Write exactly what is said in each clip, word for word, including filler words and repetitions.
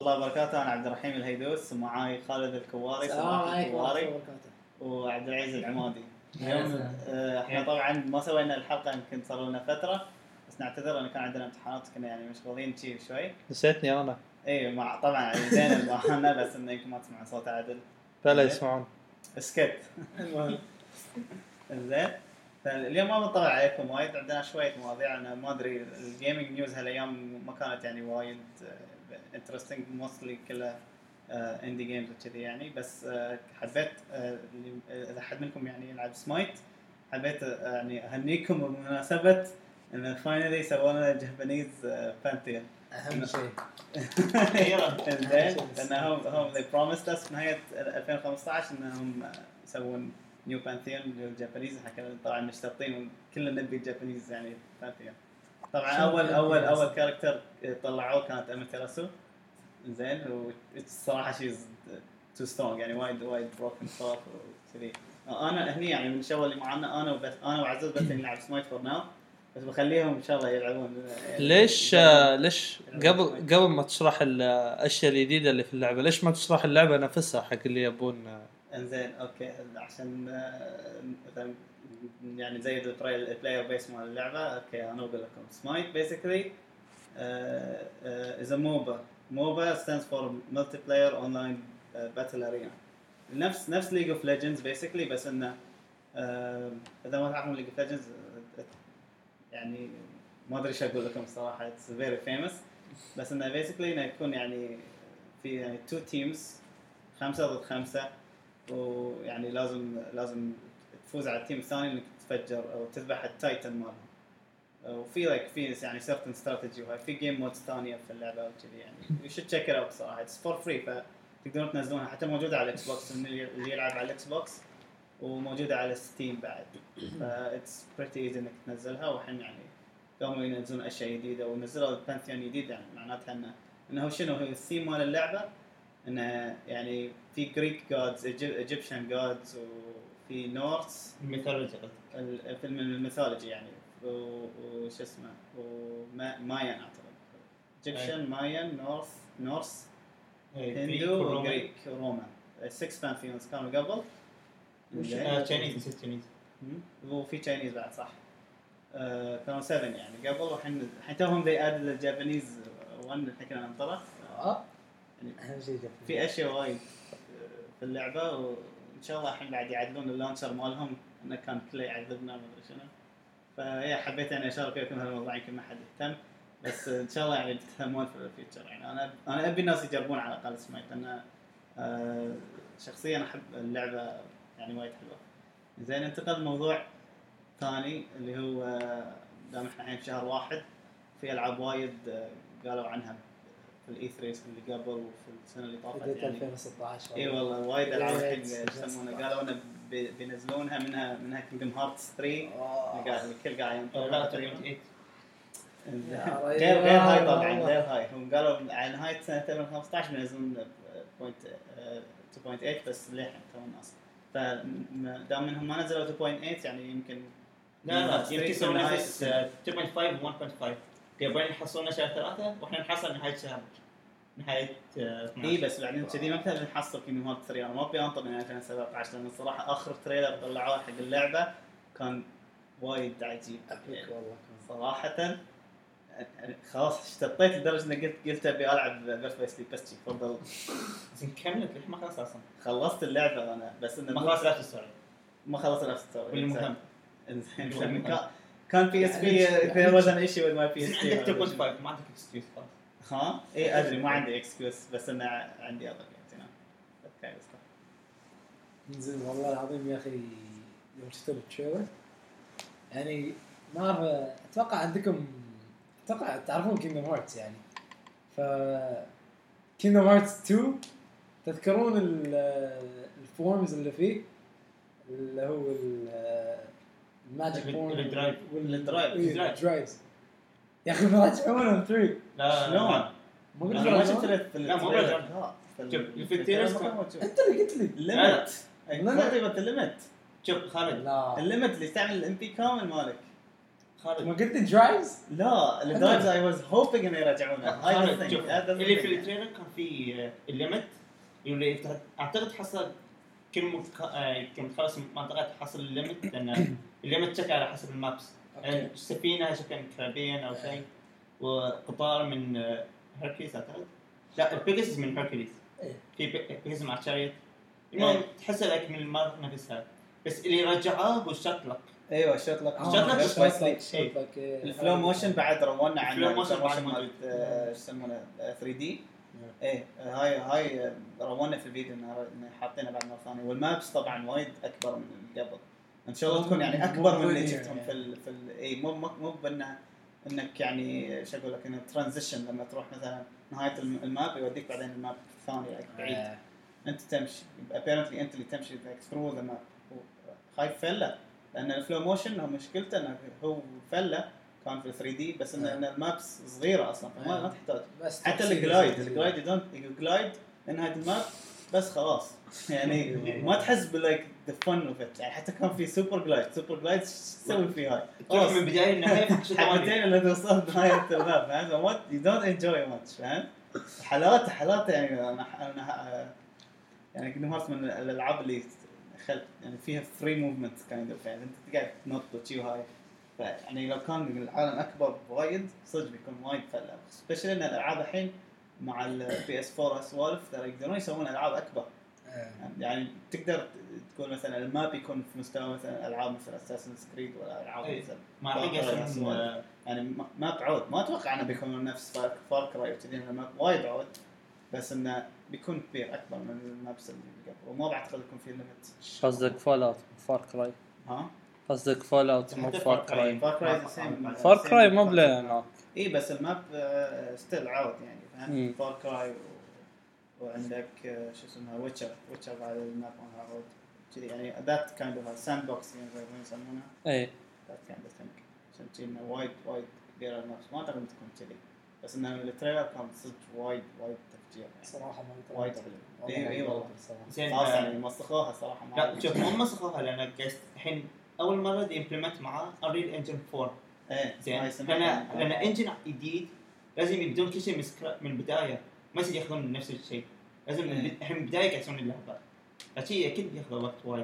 الله وبركاته. أنا عبد الرحيم الهيدوس ومعاي خالد الكواري السلام عليكم ورحمة الله الكواري وبركاته. وعبد العزيز العمادي. يا اليوم سلام. آه، احنا طبعا ما سوينا الحلقة يمكن صار لنا فترة، بس نعتذر لأن كان عندنا امتحانات كنا يعني مشغولين شيء شوي. نسيتني انا. اي مع طبعا زين المهنة بس انه يمكن ما تسمعون صوت عدل. فلا يسمعون. اسكت. المهم زين. فاليوم ما بنطلع عليكم وايد، عندنا شوية مواضيع. أنا ما أدري الجيمينج نيوز هالأيام ما كانت يعني وايد انترستينج، موستلي كلها اندي جيمز وكذي يعني. بس uh, حبيت uh, اذا حد منكم يعني يلعب سمايت حبيت uh, يعني اهنيكم بمناسبه ان فاينلي سووا لنا جابانيز بانثيون. اهم شيء زين لانهم هم they promised us في نهايه ألفين وخمسة عشر انهم يسوون نيو بانثيون للجابانيز. احنا كنا طبعا مشتاقين وكلنا نبي الجابانيز يعني بانثيون. طبعا اول اول اول كاركتر طلعوه كانت اماتيراسو. زين والصراحه شيء تو سترونج يعني وايد وايد بروكن صار وكذي. انا هني يعني من الشباب اللي معنا انا وبس انا وعزوز بس نلعب سمايت فور ناو، بس بخليهم ان شاء الله يلعبون. ليش يعني ليش قبل قبل ما تشرح الاشياء الجديده اللي في اللعبه ليش ما تشرح اللعبه نفسها حق اللي يبون؟ انزين اوكي عشان يعني زي البلاير بيس مال اللعبه. اوكي انا اقول لكم سمايت بيسكلي از ا موبا. موبا stands for multiplayer online uh, battle arena. نفس نفس League of Legends basically، بس انه uh, اذا ما تعرفون League of Legends uh, يعني ما ادري ايش اقول لكم صراحه. it's very famous. بس انه basically انه يكون يعني في يعني two teams خمسة ضد خمسة، ويعني لازم لازم تفوز على التيم الثاني انك تفجر او تذبح التايتن مالهم. وفي لايك في يعني certain strategy وهاي في جيم مودز ثانيه في اللعبه وكذي يعني. you should check it out صراحه. it's for free فتقدرون تنزلونها، حتى موجوده على الاكس بوكس اللي يلعب على الاكس بوكس، وموجوده على ستيم بعد. ف it's pretty easy انك تنزلها. وحين يعني قاموا ينزلون اشياء جديده ونزلوا البانثيون جديد، يعني معناتها انه انه شنو هو الثيم مال اللعبه، انه يعني في جريك جودز ايجيبشن جودز وفي نورث الميثولوجي الفيلم الميثولوجي يعني وش اسمه ومايان اعتقد ايجيبشن مايان نورث نورث هندو وغريك ورومان. six pantheons كانوا قبل. تشاينيز تشاينيز وفي تشاينيز بعد صح. آه كانوا seven يعني قبل، وحين الحين توهم ذي اد للجابانيز one الحين كنا ننطره. اه يعني اهم شيء في اشياء وايد في اللعبه، وان شاء الله الحين بعد يعدلون اللانشر مالهم انه كان كله يعذبنا ما ادري شنو. فهي حبيت يعني اشارك فيكم هالموضوع يمكن ما حد يهتم، بس ان شاء الله يعني تفهمون في الفيتشر. يعني انا انا ابي الناس يجربون على الاقل سمايت، انا آه شخصيا احب اللعبه يعني وايد حلوه. زين ننتقل لموضوع ثاني اللي هو دام احنا الحين في شهر واحد، في العاب وايد قالوا عنها في الاي ثلاثة اللي قبل وفي السنه اللي طافت يعني ألفين وستة عشر. اي والله وايد العاب الحين يسمونها قالوا انه بينزلونها منها منها كينجدم هارتس ثري. قاعد الكل قاعد لا ثمانية غير غير هاي طبعا غير هاي. هم قالوا على نهايه سنه ألفين وخمسة عشر بينزلون اثنين فاصلة ثمانية بس للحين تو الناس. فدام منهم ما نزلوا اثنين فاصلة ثمانية يعني يمكن لا لا يمكن يسوون نفس اثنين فاصلة خمسة و واحد فاصلة خمسة. يبغون يحصلون شهر ثلاثة واحنا نحصل نهايه شهر نهايه اثناشر. اي بس بعدين كذي ما بنقدر نحصل كينجدم هارتس ثري. انا ما ابي انطر من ألفين وسبعة عشر لان الصراحه اخر تريلر طلعوه حق اللعبه كان وايد عجيب والله صراحه. خلاص اشتطيت لدرجه اني قلت قلت ابي العب بيرث باي سليب بس تفضل. زين كملت ليه ما خلصت اصلا؟ خلصت اللعبه انا بس انه ما خلصت نفس السؤال. ما خلصت نفس السؤال. والمهم انزين كان بي اس بي في وزن ايشي وذ ماي بي اس بي. عندك اثنين فاصلة خمسة ما عندك اكسكيوز خلاص. ها اي ادري ما عندي اكسكيوز بس انا عندي اضل يعني اوكي بس زين والله العظيم يا اخي يوم شفت التريلر يعني ما اعرف اتوقع عندكم اتوقع تعرفون كينجدم هارتس يعني. ف كينجدم هارتس تو تذكرون الفورمز اللي فيه اللي هو الماجيك فورم الدرايف والدرايف درايفز يا اخي ما تسوونه ثري. لا شلون ما قلت ما لك شفت لا مو برجع شوف في التيرس انت اللي قلت لي الليمت قريبة الليمت. شوف خالد لا الليمت اللي يستعمل الام بي كامل مالك ما خالد قلت درايفز؟ لا الدرايفز اي واز هوبينج انه يرجعونها هاي خالد، الثينج شوف، هذا اللي في التريلر كان في آه، الليمت اللي يفتح- اعتقد حصل كل مك... آه، كم خلص منطقه حصل الليمت لان الليمت شكل على حسب المابس. أوكي. السفينه شكل كاريبيان او شيء، وقطار من آه، هيركليس اعتقد. لا البيجاسس من هيركليس. إيه. في بيجاسس مع شاريت. المهم إيه. تحس لك من المره نفسها، بس اللي رجعوه هو الشطلق. ايوه شوت لك شوت لك شوت لك شوت لك الفلو موشن بعد رونا عن الفلو موشن الفلو بعد موشن موجود. مالت آه، ايش يسمونه ثري دي ايه هاي هاي رونا في الفيديو انه إنه حاطينها بعد مره ثانيه والمابس طبعا وايد اكبر من اللي قبل ان شاء الله تكون يعني اكبر من اللي شفتهم في ال في ال اي مو مو مو بانه انك يعني شو اقول لك انه ترانزيشن لما تروح مثلا نهايه الم- الماب يوديك بعدين الماب الثاني like بعيد آه. انت تمشي apparently انت اللي تمشي like through the map خايف فله لان الفلو موشن هو مشكلته انه هو فله كان في ثري دي بس ان آه. إن المابس صغيره اصلا فما آه. ما تحتاج بس حتى تفصيل الجلايد زي- الجلايد يدون الجلايد لنهايه الماب بس خلاص يعني ما تحس بلايك ذا فن اوف ات يعني حتى كان في سوبر جلايد سوبر جلايد ايش تسوي فيه هاي تروح من بدايه لنهايه في شيء ثاني. حبتين اللي توصل نهايه الماب فاهم وات يو دونت انجوي ماتش فاهم حالات حالات يعني انا انا يعني كينجدم هارتس من الالعاب اللي خل يعني فيها فري موفمنت كايند اوف يعني انت تقعد تنط وتشي هاي يعني لو كان العالم اكبر وايد صدق بيكون وايد فله سبيشلي ان الالعاب الحين مع البي اس فور اسوالف ترى يقدرون يسوون العاب اكبر آه. يعني تقدر تقول مثلا الماب يكون في مستوى مثلا العاب مثل اساسن كريد ولا العاب أي. مثلا ما Far الحين Cry قاعد أسوالف. يسوون يعني ما- ما بعود ما اتوقع انه بيكون نفس فار كراي وكذي الماب وايد بعود بس انه بيكون كبير اكبر من المابس اللي قبل وما بعتقد يكون في ليميت قصدك فول اوت فار كراي ها قصدك فول اوت مو حتى فار Far Cry. كراي فار كراي سيم فار كراي مو بلا هناك اي بس الماب ستيل عود يعني فاهم مم. فار كراي وعندك آه، شو اسمها ويتشر ويتشر بعد الماب مالها عود كذي يعني ذات كايند اوف ساند بوكس يعني زي ما يسمونها اي ذات كايند اوف ثينك عشان كذي انه وايد وايد كبيره المابس ما اعتقد تكون كذي بس انه التريلر كان صدق وايد وايد تفجير يعني صراحه ما وايد حلو اي اي والله الصراحه زين خلاص آه، يعني مسخوها صراحه ما لا شوف مو مسخوها لان قاعد الحين اول مره دي امبلمنت معاه انريل انجن فور. ايه زين هاي سمعت لان عنها. لان انجن جديد لازم يبدون كل شيء من سكرا- من البدايه ما يصير ياخذون من نفس الشيء لازم من إيه. البد- الحين من البدايه قاعد يسوون اللعبه فشي اكيد ياخذ وقت وايد.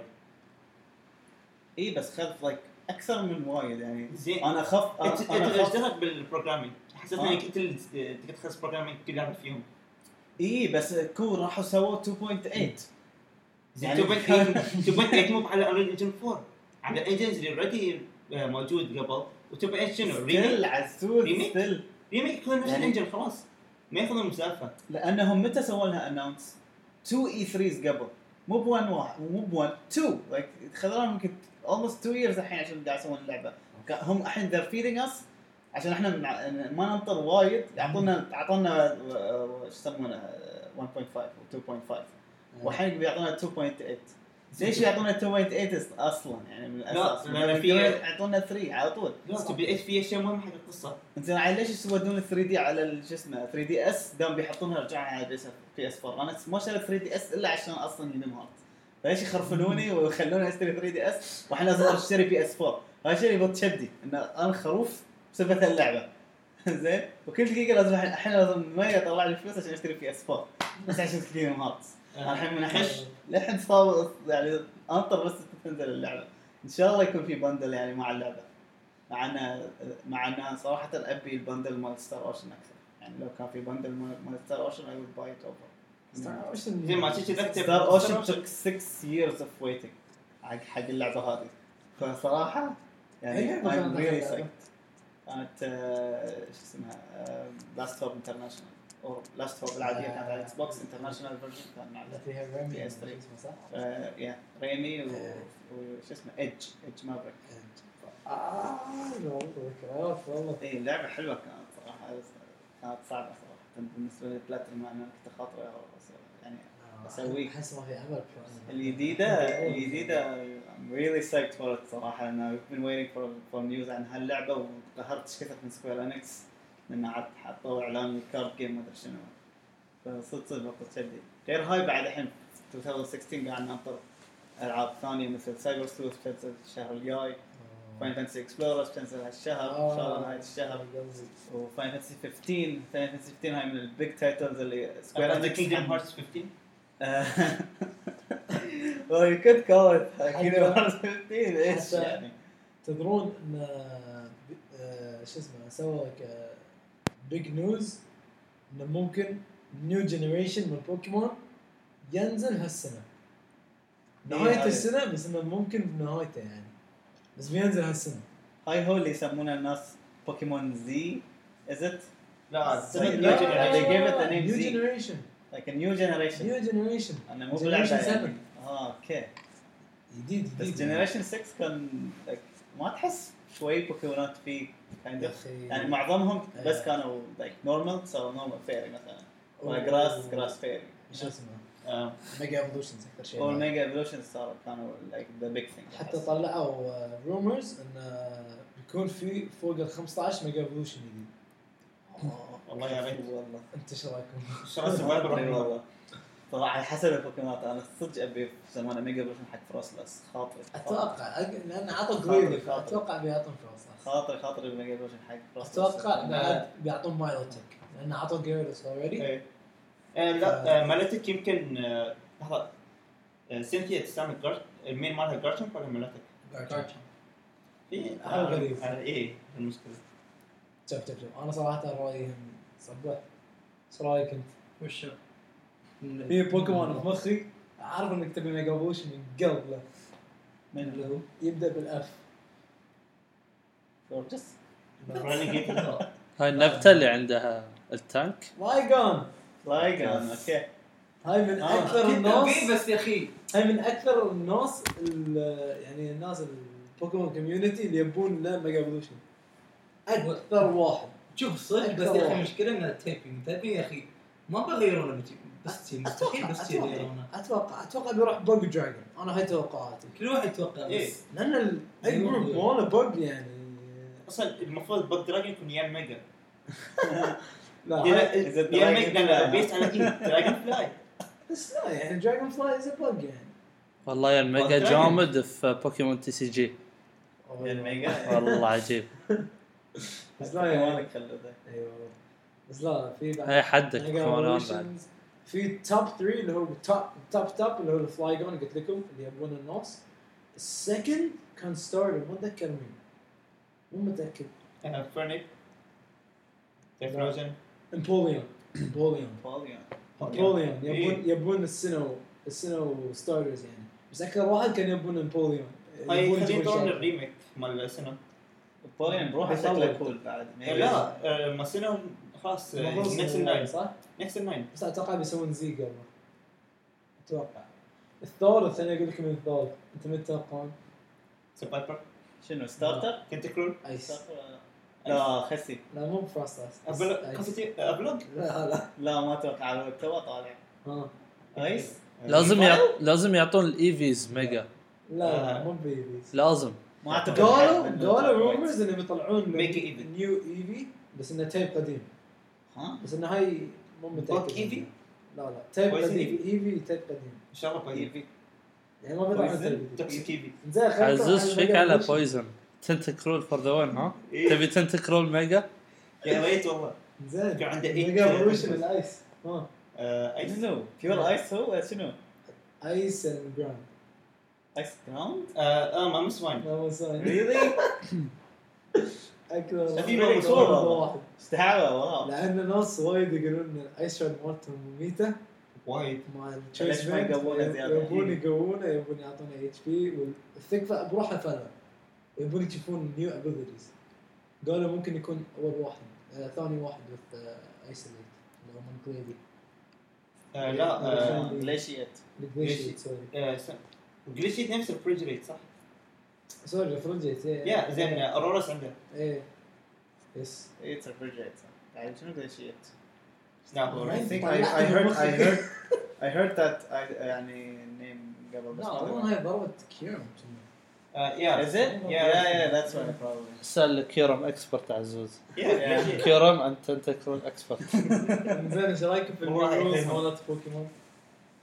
اي بس خذ لايك اكثر من وايد يعني زين انا اخاف انت انا انت اخاف اشتغلت بالبروجرامينج حسيت آه. انك انت اللي تقدر تخلص بروجرامينج كل لعبه فيهم. اي بس كور راحوا سووا تو بوينت ثمانية زين يعني تو بوينت ثمانية تو بوينت ثمانية مو على انريل انجن فور على الانجنز اللي اوريدي موجود قبل و2 بوينت ثمانية شنو ستيل ريميك عزوز ريميك؟ ستيل ريميك يكون نفس يعني- الانجن خلاص ما ياخذون مسافه. لانهم متى سووا لها اناونس تو اي ثريز قبل مو بوان واحد مو بوان تو لايك خذوا يمكن almost two years الحين عشان قاعد يسوون اللعبه هم الحين they're feeding us عشان احنا مع- ما ننطر وايد يعطونا اعطونا آه، ايش يسمونه واحد فاصلة خمسة و اثنين فاصلة خمسة والحين بيعطونا اثنين فاصلة ثمانية ليش يعطونا اثنين فاصلة ثمانية اصلا يعني من الاساس لأن في- يعطونا ثلاثة على طول لا تبي ايش في اشياء مهمه حق القصه. انت يعني ليش يسودون ثري دي على ال- شو اسمه ثري دي اس دام بيحطونها رجعها على بي اس بي اس فور انا ما شريت ثري دي اس الا عشان اصلا ينم هارت فليش يخرفنوني ويخلوني اشتري ثري دي اس واحنا لازم اشتري بي اس فور هذا الشيء يبغى تشدي ان انا خروف بسبب اللعبه زين وكل دقيقه لازم الحين الحين لازم ما يطلع لي فلوس عشان اشتري بي اس فور بس عشان كينجدم هارت أنا الحين من الحين لحد صار يعني انطر بس تنزل اللعبه ان شاء الله يكون في بندل يعني مع اللعبه مع ان مع ان صراحه ابي البندل مال ستار اوشن اكثر يعني لو كان في بندل مال ستار اوشن اي وود باي ات اوفر زي ما تجي تكتب ستار اوشن took six years of waiting حق حق اللعبه هذه فصراحه يعني I'm really psyched كانت آه، شو اسمها لاست هوب انترناشونال او لاست هوب العاديه كانت على اكس بوكس انترناشونال فيرجن كان على فيها ريمي بي اس ثري. صح؟ آه، يا ريمي و- وش اسمه ايدج ايدج مافريك اه ذكريات والله. اي اللعبه حلوه كانت صراحه كانت صعبه صراحه بالنسبه لي بلاتينوم انا كنت خاطره يعني أسويه. احس ما في امل الجديده الجديده I'm really psyched for it صراحه انا I've been waiting for for news عن هاللعبه وقهرت ايش كثر من سكوير انكس لان عاد حطوا اعلان الكارد جيم ما ادري شنو فصدق صدق وقت شدي غير هاي بعد الحين ألفين وستة عشر قاعد ننطر العاب ثانيه مثل سايبر سلوث بتنزل الشهر الجاي فاين فانتسي اكسبلوررز بتنزل هالشهر ان شاء الله نهايه الشهر. وفاين فانتسي خمستاشر فاين فانتسي خمستاشر هاي من البيج تايتلز اللي سكوير قصدك انكس كينجدم هارتس خمستاشر. well you could call it Kingdom Hearts خمستاشر ايش حتى- يعني. تدرون ان آه، شو اسمه سوى لك بيج نيوز انه ممكن نيو جنريشن من بوكيمون ينزل هالسنه إيه نهايه هذا. السنه، بس انه ممكن بنهايته يعني، بس بينزل هالسنه. هاي هو اللي يسمونه الناس بوكيمون زي is it لا Like, سنة no, نيو they جنريشن. gave it the name نيو Z. جنريشن like a new generation نيو جنريشن انا مو Generation بلعبة seven. يعني اه اوكي جديد بس جديد جنريشن ستة كان like, ما تحس شوي بوكيمونات فيه kind يا of اخي يعني معظمهم بس آه. كانوا like normal so normal fairy مثلا أوه. ولا grass grass fairy شو اسمه آه، ميجا ايفولوشنز اكثر شيء. والميجا ايفولوشن صاروا كانوا like the big thing حتى طلعوا رومرز انه بيكون في فوق ال خمسطعش ميجا ايفولوشن جديد. والله يا ريت. والله انت ايش رايكم؟ شرط ما سبايبر ادري رهيبة. والله طبعا على حسب البوكيمونات انا صدق ابي في زمان ميجا ايفولوشن حق فروسلس خاطري اتوقع أج- لان عطوا خاطر- قوي خاطر. اتوقع بيعطون فلوس. خاطري خاطري الميجا ايفولوشن حق فروسلس اتوقع بعد بيعطون مايلوتك لان عطوا جيرلس اوريدي. إيه. آه، لا آه، مالتك يمكن آه، لحظة آه، سينثيا تستعمل جارت المين مالها جارتشن ولا مالتك؟ إيه حاجة غريبة. آه، إيه المشكلة. شوف شوف شوف انا صراحه رايي صبح. ايش رايك انت؟ وشو؟ في بوكيمون في مخي اعرف انك تبي ميجا ايفولوشن من قبل له. من اللي هو يبدا بالاف. فورجس رينيجيت. هاي النبتة اللي عندها التانك. لايجون لايجان اوكي هاي من آه. اكثر الناس في بس يا اخي هاي من اكثر الناس ال- يعني الناس البوكيمون كوميونتي اللي يبون له ميجا ايفولوشن. اكثر واحد. شوف صدق بس يا اخي مشكله من التيبنج تبي يا اخي ما بغيرونه متي بس تي مستحيل بس تي اتوقع يغيرونه اتوقع اتوقع بيروح بوج دراجون. انا هاي توقعاتي كل واحد يتوقع إيه. بس لان ال- اي جروب ماله بوج يعني. أصلا المفروض بوك دراجون يكون يان ميجا. لا Is هاي- it يان Dragon ميجا لا Fly؟ بيست على إيه دراجون فلاي. بس لا يعني دراجون فلاي از بوج يعني. والله يا الميجا والدراجون. جامد في بوكيمون تي سي جي. الميجا والله عجيب. بس لا يعني مالك خلده ايوه بس لا في بعد هاي حدك Mega بوكيمونات Evolutions. بعد. في توب ثلاثة اللي هو توب توب توب اللي هو الفلايجون قلت لكم اللي يبون الناس. السكند كان ستارتر ما اتذكر مين مو متاكد. فرنيك. تفروزن. امبوليون امبوليون بوليون امبوليون إيه. يبون يبون السنو السنو ستارترز يعني. بس اكثر واحد كان يبون امبوليون. هاي يبون خلينا يجيبون نطور شاطر. الريميك مال السنة. بوليون بروحه بيطول. شكله كول بعد لا آه، ما السنة خلاص المفروض نكس سنو الناين. صح؟ نكس الناين. بس اتوقع بيسوون زي قبل. اتوقع الثالث انا اقول لكم الثالث انت من تتوقعون؟ سبايبر. شنو ستارتر؟ تنتكرول. ايس. ستارتر ولا- لا خسي لا مو بفراست ايس. أبلوج. أبلوج. لا لا لا ما اتوقع على تو طالع ها ايس لازم يعط... لازم يعطون الايفيز ميجا. لا لا مو بيبيز. لازم. ما اعتقد قالوا حد منه قالوا وايد. رومرز انه بيطلعون Mega Eevee. نيو ايفي بس انه تيب قديم. ها بس انه هاي مو متاكد. بوك إيفي؟ لا لا تيب Poison قديم ايفي تيب قديم إن شاء الله كويس. ايفي يعني ما بيطلعون Poison؟ تيب جديد. توكسيك إيفي. زين خلينا نطلع عزوز على فيك Mega على Evolution. بويزن. تنتكرول فور ذا وين ها؟ إيه. تبي تنتكرول ميجا؟ يا ريت والله. زين كان عنده eight ميجا ايفولوشن Poison. الايس. ها آه، أيس. شنو بيور ايس هو شنو ايس اند جراوند. ايس جراوند آه، آه، ما مسوين. لا مو ساين. ريلي اكثر في Very واحد. cool والله. استحاله واو لان ناس وايد يقولون ان الايس شارد مالتهم مميته وايد. مع ليش التشيس ما بينت يقوونه زيادة؟ يبون يقوونه يبون يعطونه اتش بي والثقفه بروحه فلا يبون يشوفون نيو ابيلتيز. قالوا ممكن يكون اول واحد آه ثاني واحد وذ ايسوليت اللي هو من كليدي آه، لا آه، جليشيت الجليشيت سوري آه، س- جليشيت نفس الفريجريت صح؟ سوري ريفرجيت يا زين آه، اورورس عنده. ايه يس اتس ريفرجريت بعد شنو جليشيت لا هو I Right. think I, طلعت I من heard مخي. I heard I heard that I يعني name قبل بس لا ما اظن أدري. هاي ضربه كيرم آه، يا Is it? Yeah. Yeah yeah that's right probably سأل كيرم اكسبرت عزوز. يا جليشيت. كيرم انت تنتكرول اكسبرت. زين ايش رايكم في والله الرولز يحييهم. مالت بوكيمون؟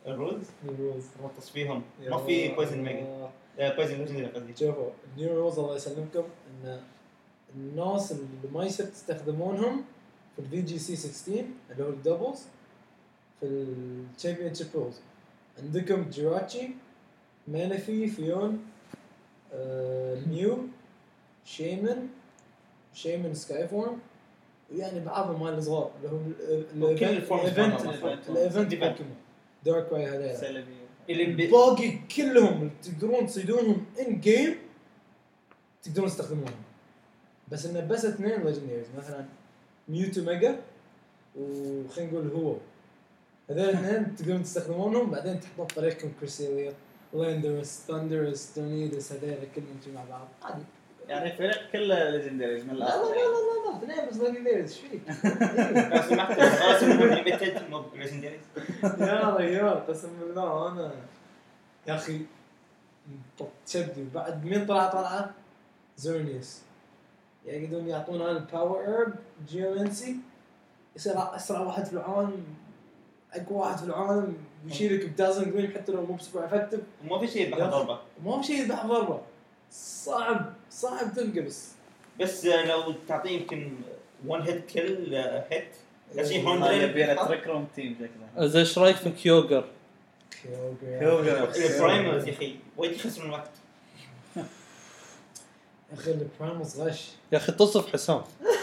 الرولز الرولز مرتص فيهم ما في بويزن ميجا بويزن ليجندري قصدي. شوفوا النيو رولز الله يسلمكم ان الناس اللي ما يصير تستخدمونهم في الفي جي سي ستة عشر اللي هو الدبلز في الشامبيون شيب رولز. عندكم جيراتشي، مانفي، فيون، آه، ميو، شيمن، شيمن سكاي فورم، ويعني بعضهم مال الصغار اللي هم وكل الفورمز الايفنت مالهم. الايفنت Event. بوكيمون دارك واي هذول سلبي. اللي ب... باقي كلهم اللي تقدرون تصيدونهم ان جيم تقدرون تستخدمونهم. بس انه بس اثنين ليجندريز مثلا ميوتو ميجا وخلينا نقول هو هذول الاثنين تقدرون تستخدمونهم بعدين تحطون طريقكم كريسيليا لاندرس ثاندرس تورنيدوس هذول كلهم مع بعض عادي. يعني فريق كله ليجندريز من لا لا الاخر. لا لا لا اثنين بس ليجندريز ايش فيك؟ بس سمحت خلاص انهم ليميتد مو ليجندريز. يا ريال قسم بالله انا يا اخي تشدي بعد مين طلع طلعه زورنيوس يقدرون يعطونا الباور ايرب جيومنسي يصير اسرع واحد في العالم اقوى واحد في العالم يشيلك بدازن جرين حتى لو مو بسوبر افكتيف وما في شيء بحض ضربه ما في شيء يذبح ضربه صعب صعب تلقى بس بس لو تعطيه يمكن وان هيت كل هيت شيء هذا يبي له هوندرد تريك روم تيم شكله. زين ايش رايك في كيوغر؟ كيوغر. البرايمرز يا اخي وايد يخسرون الوقت. يا اخي البرايموس غش. يا اخي تصف حسام.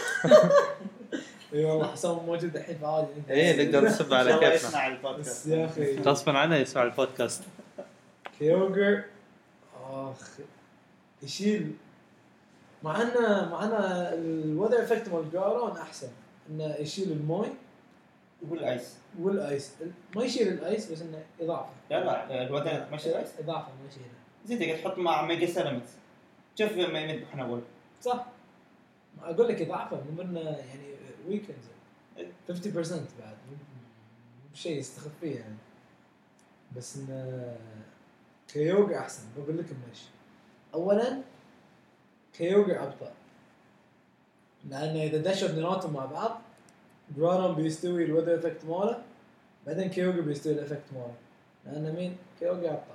اي والله حسام موجود الحين فعادي. ايه نقدر نسب ان على شاء الله كيفنا. يسمع بس البودكاست. يا اخي غصبا عنه يسمع البودكاست. كيوغر اخ يشيل مع انه مع انه الوذر افكت مال جارون احسن انه يشيل الماي والايس والايس ما يشيل الايس بس انه اضافه لا لا الوثن ماشي الايس اضافه ما يشيله زين تقدر تحط مع ميجا سيراميكس. شوف ما يذبحون اول صح. ما اقول لك اضافه مو انه يعني ويكند خمسين بالمية بعد مو شيء يستخف فيه يعني. بس انه كيوغا احسن بقول لكم ليش. اولا كيوغا ابطا لانه اذا دشوا اثنيناتهم مع بعض جرانون بيستوي الوذر افكت ماله بعدين كيوغا بيستوي الافكت ماله لان مين كيوغا ابطا.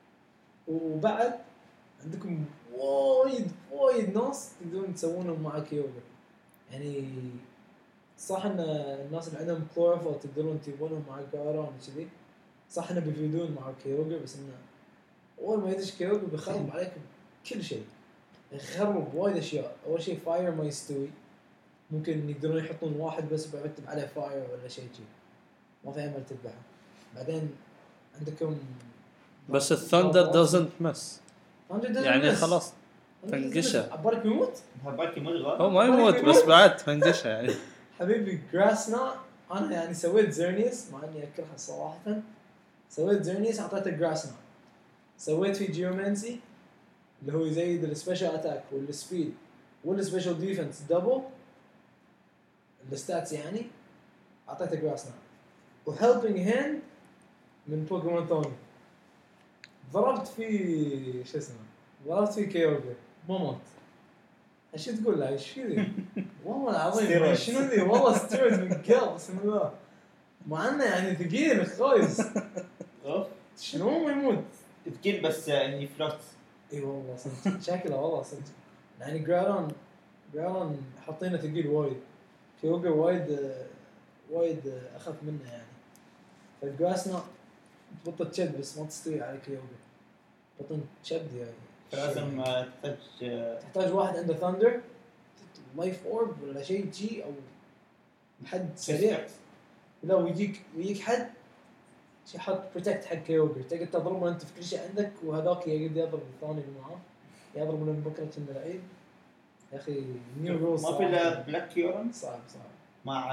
وبعد عندكم وايد وايد ناس تقدرون تسوونهم مع كيوغا يعني. صح ان الناس اللي عندهم كلوروفل تقدرون تجيبونهم مع جارون كذي صح انه بيفيدون مع كيوغا بس انه اول ما يدش كيوغا بيخرب عليكم كل شيء. يخرب وايد اشياء. اول شيء فاير ما يستوي ممكن يقدرون يحطون واحد بس بيكتب عليه فاير ولا شيء شيء ما في امل تذبحه. بعدين عندكم بس الثندر doesn't miss يعني خلاص تنقشه. عبالك يموت هبالك مو الغلط. هو ما يموت بس بعد تنقشه يعني. حبيبي جراسنا انا يعني سويت زيرنيس مع اني اكرهها صراحه. سويت زيرنيس اعطيته جراسنا. سويت في جيومنسي اللي هو يزيد السبيشال اتاك والسبيد والسبيشال ديفنس دبل الستاتس يعني اعطيته جراسنا. وهيلبينج هاند من بوكيمون ثوني ضربت في شو اسمه ضربت في كيوغا ما مات. ايش تقول له ايش في ذي والله العظيم شنو ذي والله ستيرويد من قلب بسم الله مع انه يعني ثقيل خايس شنو ما يموت ثقيل بس يعني فلوت. اي والله صدق شكله والله صدق يعني جرالون جرالون حاطينه ثقيل وايد. كيوغا وايد وايد اخف منه يعني. فالجراسنا تبطل تشد بس ما تستوي على كيوغا بطن تشد يعني. فلازم تحتاج تحتاج واحد عنده ثاندر لايف اورب ولا شيء جي او حد سريع لا ويجيك ويجيك حد يحط بروتكت حق كيوغا تقدر تضربه انت في كل شيء عندك وهذاك يقدر يضرب الثاني اللي معاه يضرب من بكره من العيد. يا اخي نيو رولز ما في الا بلاك كيورن صعب صعب مع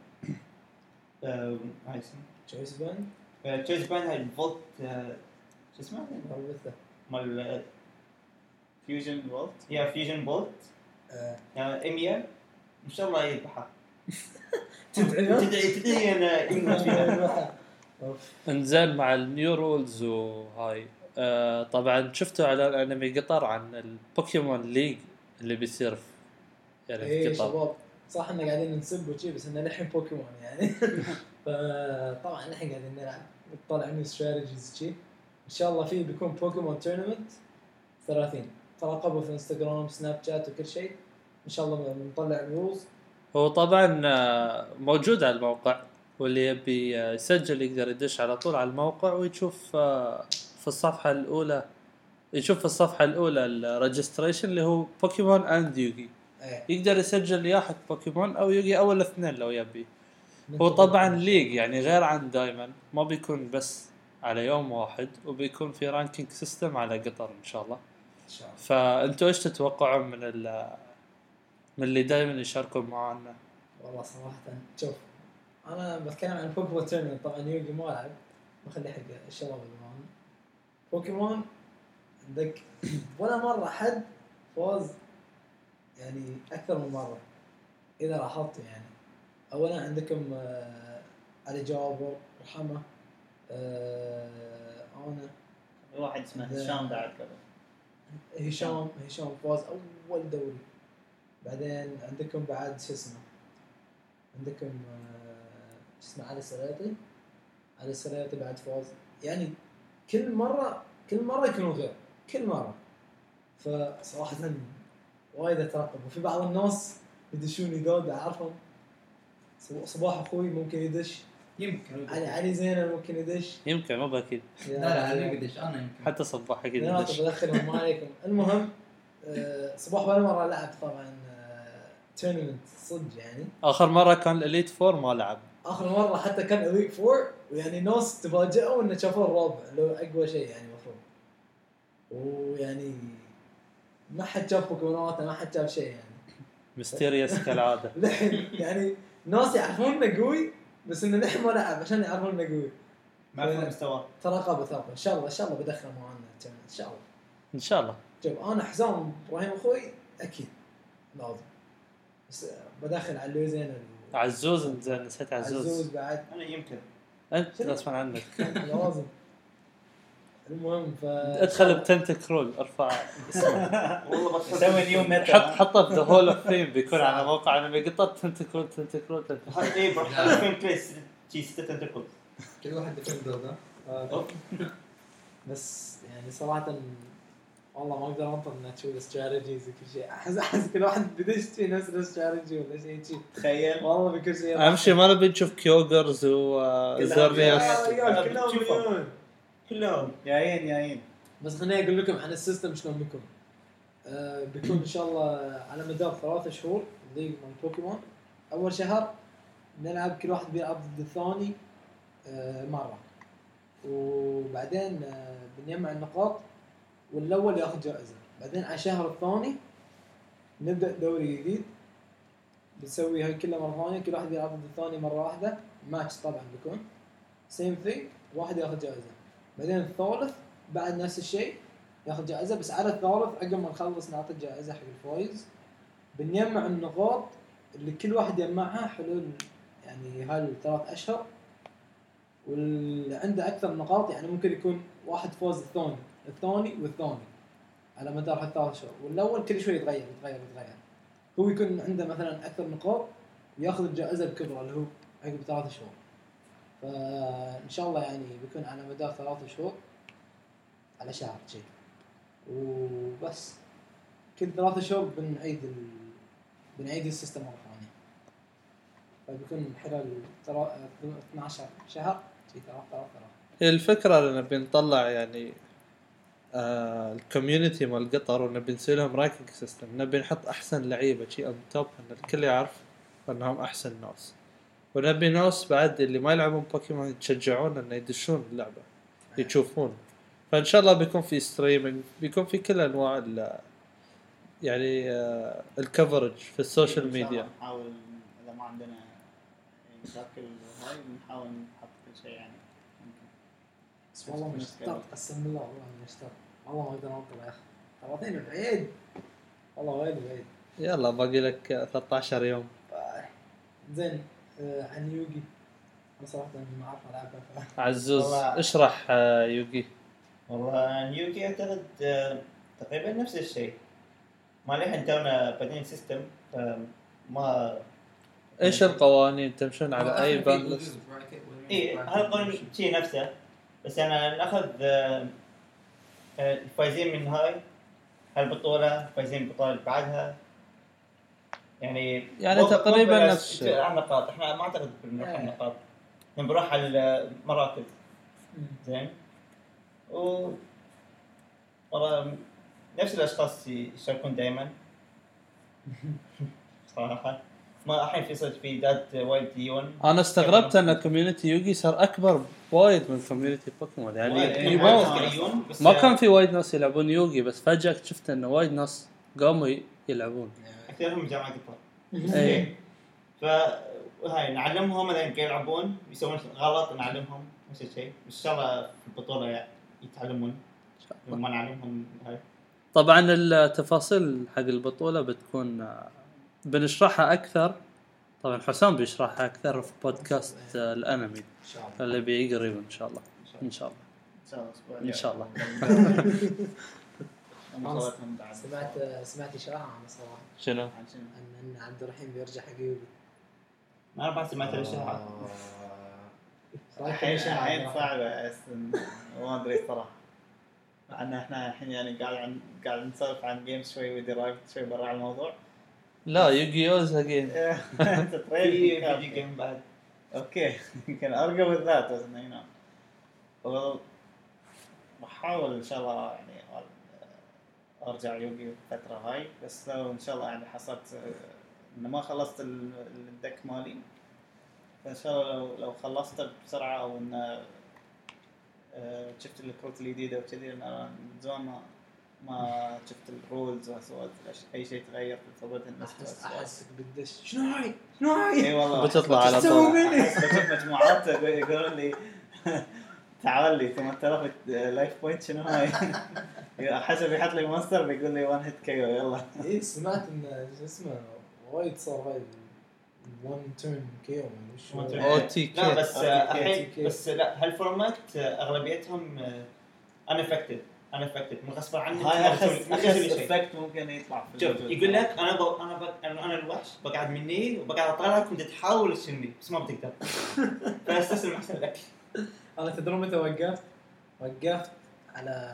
هاي اسمه تشويس بان تشيز بان هاي الفولت شو اسمه مربثه مال فيوجن فولت يا فيوجن بولت إميا ان شاء الله يذبحها. تدعي تدعي تدعي انا يموت فيها. انزين مع النيو رولز وهاي آه طبعا شفتوا على انمي قطر عن البوكيمون ليج اللي بيصير في يعني ايه في قطر. شباب صح ان قاعدين نسب وشي بس انه الحين بوكيمون يعني فطبعا الحين قاعدين نلعب نطلع من استراتيجيز شيء ان شاء الله فيه بيكون بوكيمون تورنمنت ثلاثين تراقبوا في انستغرام سناب شات وكل شيء ان شاء الله بنطلع رولز. هو طبعا آه، موجود على الموقع واللي يبي آه، يسجل يقدر يدش على طول على الموقع ويشوف آه، في الصفحة الأولى يشوف في الصفحة الأولى الريجستريشن اللي هو بوكيمون اند يوغي ايه يقدر يسجل يا حق بوكيمون أو يوغي أو الاثنين لو يبي. هو طبعا ليج يعني غير عن دايما ما بيكون بس على يوم واحد وبيكون في رانكينج سيستم على قطر إن شاء الله. ان شاء الله. فأنتوا إيش تتوقعون من ال من اللي دائما يشاركوا معنا؟ والله صراحة شوف أنا بتكلم عن بوكيمون تورنمنت طبعا يوغي ما ألعب بخلي حق الشباب اللي معنا. بوكيمون عندك ولا مرة حد فوز يعني أكثر من مرة إذا لاحظت يعني. أولا عندكم آه علي جابر رحمة آه أنا واحد اسمه ده- هشام بعد قبل. هشام هشام فاز أول دوري. بعدين عندكم بعد شو اسمه عندكم آه، شو اسمه علي السرياطي علي السرياطي بعد فاز يعني كل مرة كل مرة يكونوا غير كل مرة. فصراحة وايد اترقب وفي بعض الناس يدشون يدود أعرفهم صباح أخوي ممكن يدش يمكن علي علي زينة ممكن يدش يمكن مو بأكيد لا لا انا قديش انا يمكن حتى صباح أكيد لا يدش. بدخلهم ما عليكم. المهم آه، صباح ولا مرة لعب طبعا تورنمنت صدق يعني. آخر مرة كان الإليت فور ما لعب. اخر مره حتى كان اليت فور ويعني ناس تفاجئوا انه شافوا الرابع لو اقوى شيء يعني المفروض. ويعني ما حد شاف بوكيمونات ما حد شاف شيء يعني ميستيريوس كالعادة. لحين يعني ناس يعرفون انه قوي بس انه لحين ما لعب عشان يعرفون انه قوي. ما في مستوى. تراقب تراقب ان شاء الله ان شاء الله بدخل معنا ان شاء الله. إن شاء الله. شوف انا حزام ابراهيم اخوي اكيد لازم بس بدخل على اللوزين عزوز زين نسيت عزوز. عزوز بعد انا يمكن أنت غصبا عنك. لازم. المهم ف ادخل بتنتكرول ارفع اسمه. والله بس يسوي نيو حط ميتا. حطه في ذا هول اوف فيم بيكون على موقع انا بقطط تنتكرول تنتكرول تنتكرول. اي بروح على فين بليس شي ستة تنتقل. كل واحد ديفندر ذا آه، بس يعني صراحة والله ما اقدر انطر اني اشوف استراتيجيز وكل شيء. احس احس كل واحد بدش في نفس الاستراتيجي ولا شيء شيء تخيل والله بكل شيء. اهم شيء ما نبي نشوف كيوغرز وزورنيوس. آه، رجال كلهم بتشوفهم. مليون. كلهم جايين جايين. بس خليني اقول لكم عن السيستم شلون بيكون. آه بيكون ان شاء الله على مدار ثلاثة شهور ليج من بوكيمون. اول شهر نلعب كل واحد بيلعب ضد الثاني آه مرة وبعدين آه بنجمع النقاط والاول ياخذ جائزة. بعدين على الشهر الثاني نبدأ دوري جديد بنسوي هاي كلها مرة ثانية. كل واحد يلعب ضد الثاني مرة واحدة ماتش طبعا بيكون سيم ثينج واحد ياخذ جائزة. بعدين الثالث بعد نفس الشيء ياخذ جائزة بس على الثالث عقب ما نخلص نعطي جائزة حق الفايز. بنجمع النقاط اللي كل واحد يجمعها حلول يعني هالثلاث أشهر واللي عنده أكثر نقاط يعني ممكن يكون واحد فوز الثاني الثاني والثاني على مدار هالثلاث شهور والأول كل شوي يتغير يتغير يتغير. هو يكون عنده مثلا أكثر نقاط وياخذ الجائزة الكبرى اللي هو عقب ثلاث شهور. فإن شاء الله يعني بيكون على مدار ثلاث شهور على شهر شيء وبس. كل ثلاثة شهور بنعيد ال... بنعيد السيستم مرة ثانية. فبيكون خلال ترا... اثنا عشر شهر شيء ثلاثة ثلاثة. الفكرة أننا بنطلع يعني آه الكوميونتي مال قطر ونبي نسوي لهم رانكينج سيستم. نبي نحط أحسن لعيبة شيء أون توب إن الكل يعرف أنهم أحسن ناس. ونبي ناس بعد اللي ما يلعبون بوكيمون يتشجعون إنه يدشون اللعبة يشوفون. فإن شاء الله بيكون في ستريمينج بيكون في كل أنواع ال يعني آه الكفرج في السوشيال ميديا. نحاول إذا ما عندنا مشاكل هاي نحاول نحط كل شيء يعني. بس والله مشتاق قسم بالله والله مشتاق والله ما أقدر أنطر يا أخي ثلاثين بعيد والله وايد بعيد. يلا باقي لك ثلاثة عشر يوم. زين آه عن يوغي بصراحة ما أعرف ألعبها. عزوز والله. اشرح آه يوغي. والله نيوكي اعتقد آه، تقريبا نفس الشيء. ما لحين تونا بادين سيستم فما ايش القوانين تمشون على اي باند؟ ايه هذا القانون شيء نفسه، بس انا ناخذ آه، آه، الفايزين من هاي هالبطوله، فايزين البطوله اللي بعدها، يعني يعني مو- تقريباً مو بس نفس الشيء. على النقاط. احنا ما اعتقد بنروح على إيه. النقاط، احنا بنروح على المراكز. زين و والله نفس الاشخاص يشاركون دائما صراحه. ما الحين في صرت في دات وايد ديون. انا استغربت ان كوميونتي يوغي صار اكبر وايد من كوميونتي بوكيمون يعني وايد- يعني وايد ما, ديون، بس ما كان في وايد ناس يلعبون يوغي، بس فجأة شفت انه وايد ناس قاموا ي- يلعبون. اكثرهم من جامعه الطب. اي فهاي نعلمهم اذا يمكن يلعبون يسوون غلط نعلمهم نفس الشيء. ان شاء الله في البطوله يعني يتعلمون ما نعلمهم هاي. طبعا التفاصيل حق البطولة بتكون آه، بنشرحها اكثر. طبعا حسام بيشرحها اكثر في بودكاست آه، الانمي ان شاء الله. اللي بيجي قريب ان شاء الله. ان شاء الله ان شاء الله الاسبوع ان شاء الله. الله بعد سمعت سمعت اشاعه عن صراحه شنو؟ عن شنو؟ ان ان عبد الرحيم بيرجع حق يوغي. انا بعد سمعت الاشاعه. آه. رايك الحين الاشاعه الحين عبد الرحيم؟ صعبة بس ما ادري صراحة. مع ان احنا الحين يعني قاعد عن قاعد نسولف عن جيمز شوي ودرايف شوي برا الموضوع. لا يوغيوز اجين. انت في تريد فيديو جيم بعد. اوكي يمكن ارقى بالذات بس انه ينام. والله بحاول ان شاء الله يعني ارجع يوغي فترة هاي، بس لو ان شاء الله يعني حصلت آه، انه ما خلصت ال- الدك مالي، فان شاء الله لو لو خلصته بسرعة او انه آه، شفت الكروت الجديدة وكذي، لان انا من زمان ما ما شفت الرولز وسويت اي شيء تغير في ثبات الناس. احس احسك بالدش. شنو هاي؟ شنو هاي؟ اي والله بتطلع على تسوي طول. مني؟ احس بشوف مجموعات يقولون لي تعال لي ثمانية آلاف لايف بوينت شنو هاي؟ حسب يحط لي مونستر بيقول لي وان هيت كيو يلا. ايه سمعت ان شو اسمه وايد صار هاي وان تيرن كيو One وش turn. او تي لا كي. بس أوكي، آه، الحين أوكي. بس لا هالفورمات آه، اغلبيتهم ان افكتد ان افكتد من غصب عنك هاي ما اخس تسوي- ما اخس تسوي شيء. افكت ممكن يطلع في شوف الوجود. يقول لك انا ب... انا ب... انا أنا الوحش بقعد مني وبقعد اطالعك وانت تحاول تشني بس ما بتقدر. فاستسلم احسن لك. انا تدرون متى وقفت؟ وقفت على